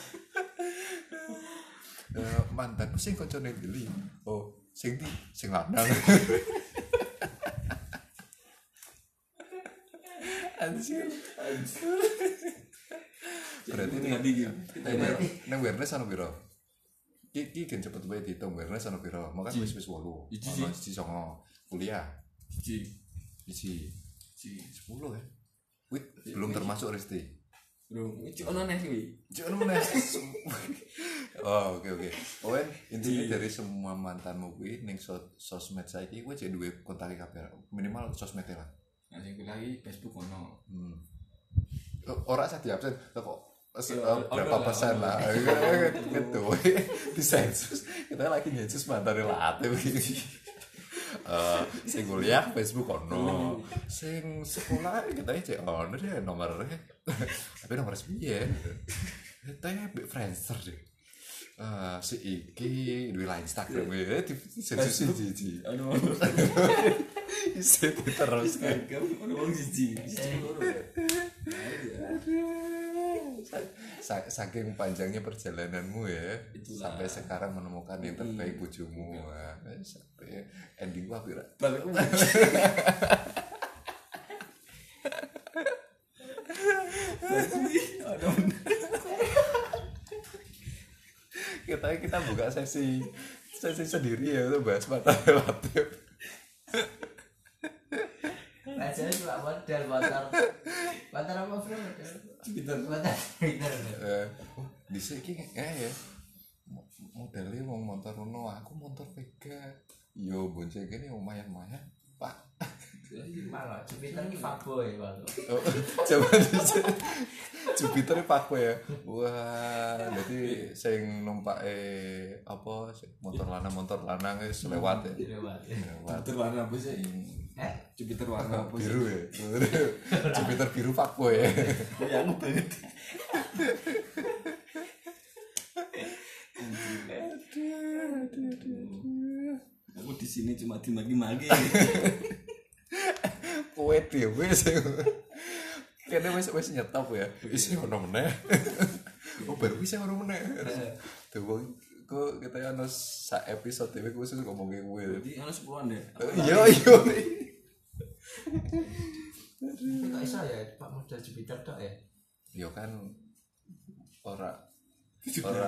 Eh, mantanku sing koncone Lili. Oh, sing di sing lanang. Anjir. Berarti ini ngerti iki. nang awareness ana piro? Ki ki kan cepet wae diitung awareness ana piro? Maka wis wis wolu. Iji. Ono siji songo kuliah. Siji. Iji Siji. sepuluh ya. Wit belum termasuk Resti. Bro, iki ono neh kuwi. Jangan mana. Oh, oke oke. Owen, intinya dari semua mantanmu kuwi ning so- sosmed saiki kowe cek duwe kontak kabeh. Minimal sosmed lah. Nah, sing kuliah iki Facebook ono. Hmm. Kok ora usah diabsen kok se- Ya, eh, ono berapa lah, persen ono. lah. Gitu. Disensus. Kita lagi nyensus mantan late iki. Eh, sing kuliah Facebook ono. Sing sekolah kita cek ono deh nomornya. Tapi nomor sepiye? Kita mbek Friendster deh. Eh, si iki duwe line Instagram ya di sensus siji. Ono. Isi terus kan. Kamu ono wong siji. Siji loro. Sa- saking panjangnya perjalananmu ya. Itulah. Sampai sekarang menemukan yang terbaik bojomu. Wah, sampai ending gua pira. Balik Kita kita buka sesi sesi sendiri ya untuk bahas mata relatif. Bacanya cuma modal motor motor motor apa bro? Jupiter. Motor Jupiter. Eh, oh, dhisik iki eh ya. Modelnya mau motor ngono, aku motor Vega. Yo bonceng kene lumayan-lumayan, Pak. Malah Jupiter ini fuckboy Pak. Oh, coba dicek. Jupiter fuckboy ya. Wah, jadi sing numpake apa motor lanang motor lanang wis lewat ya. Lewat. Lewat. Jupiter warna apa sih? Eh, Jupiter warna apa sih? Biru ya. Jupiter biru fuckboy ya. Ya aku banget. Aku di sini cuma dimaki-maki. Kowe dhewe sing kene wis wis nyetop ya. Wis ono meneh. Oh baru bisa ono meneh. Tuh kok kita ono sak episode dhewe khusus ngomongin kowe. Jadi harus sepuluhan deh. Iya iya. kita iso ya Pak model Jupiter tok ya. Yo kan ora ora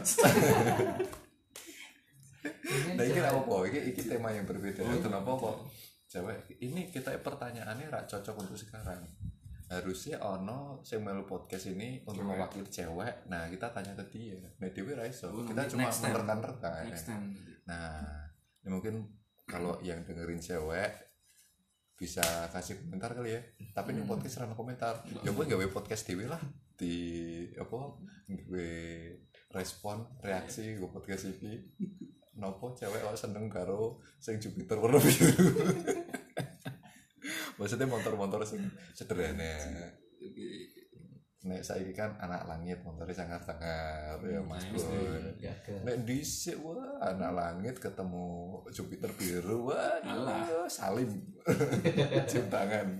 nah ini apa? Ini, ini tema yang berbeda. Oh, kenapa kok cewek? Ini kita pertanyaannya rak cocok untuk sekarang. Harusnya ono sing melu podcast ini untuk cewek. Mewakili cewek. Nah kita tanya ke dia. Nah dewe ra iso. Oh, kita cuma menerka-nerka. Nah ya mungkin kalau yang dengerin cewek bisa kasih komentar kali ya. Tapi hmm. Ini podcast rana komentar. Ya gue gawe podcast dewe lah di apa? Gue respon reaksi gue podcast ini. Nopo cewek kok seneng karo sing Jupiter warna biru. Maksudnya motor-motor sing sederhana. Nek saiki kan anak langit motornya sangar-sangar ya Mas Bro. Nek dhisik wah anak langit ketemu Jupiter biru wah salim. Cium tangan.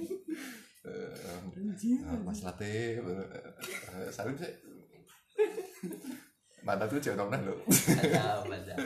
Uh, Mas Latif uh, salim sih. Mana tuh cewek nomor lo? Mantap, mantap.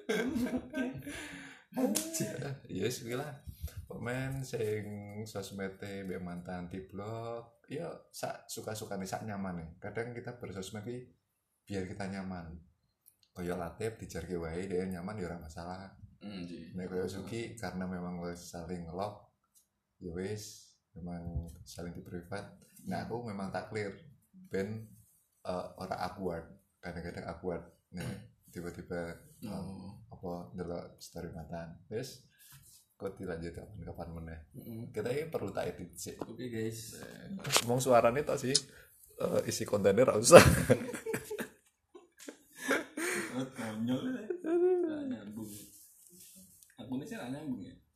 Yes, gila. Pemain sing sosmete mbek mantan di blog, ya sak suka-suka nih sak nyaman nih. Kadang kita bersosmed iki biar kita nyaman. Kaya Latif dijarke wae dia nyaman ya ora masalah. Heeh. Nek kaya Suki karena memang wis saling ngelok, ya wis memang saling di privat. Nah, aku memang tak clear ben uh, ora awkward. Kadang-kadang awkward nih tiba-tiba um, oh. apa ndelok story mantan wis kok dilanjut kapan-kapan meneh mm-hmm. Kita ini perlu tak edit sih. Oke okay, guys ngomong suaranya tok sih uh, isi kontennya ra usah konyol nyambung aku nih sih nyambung ya.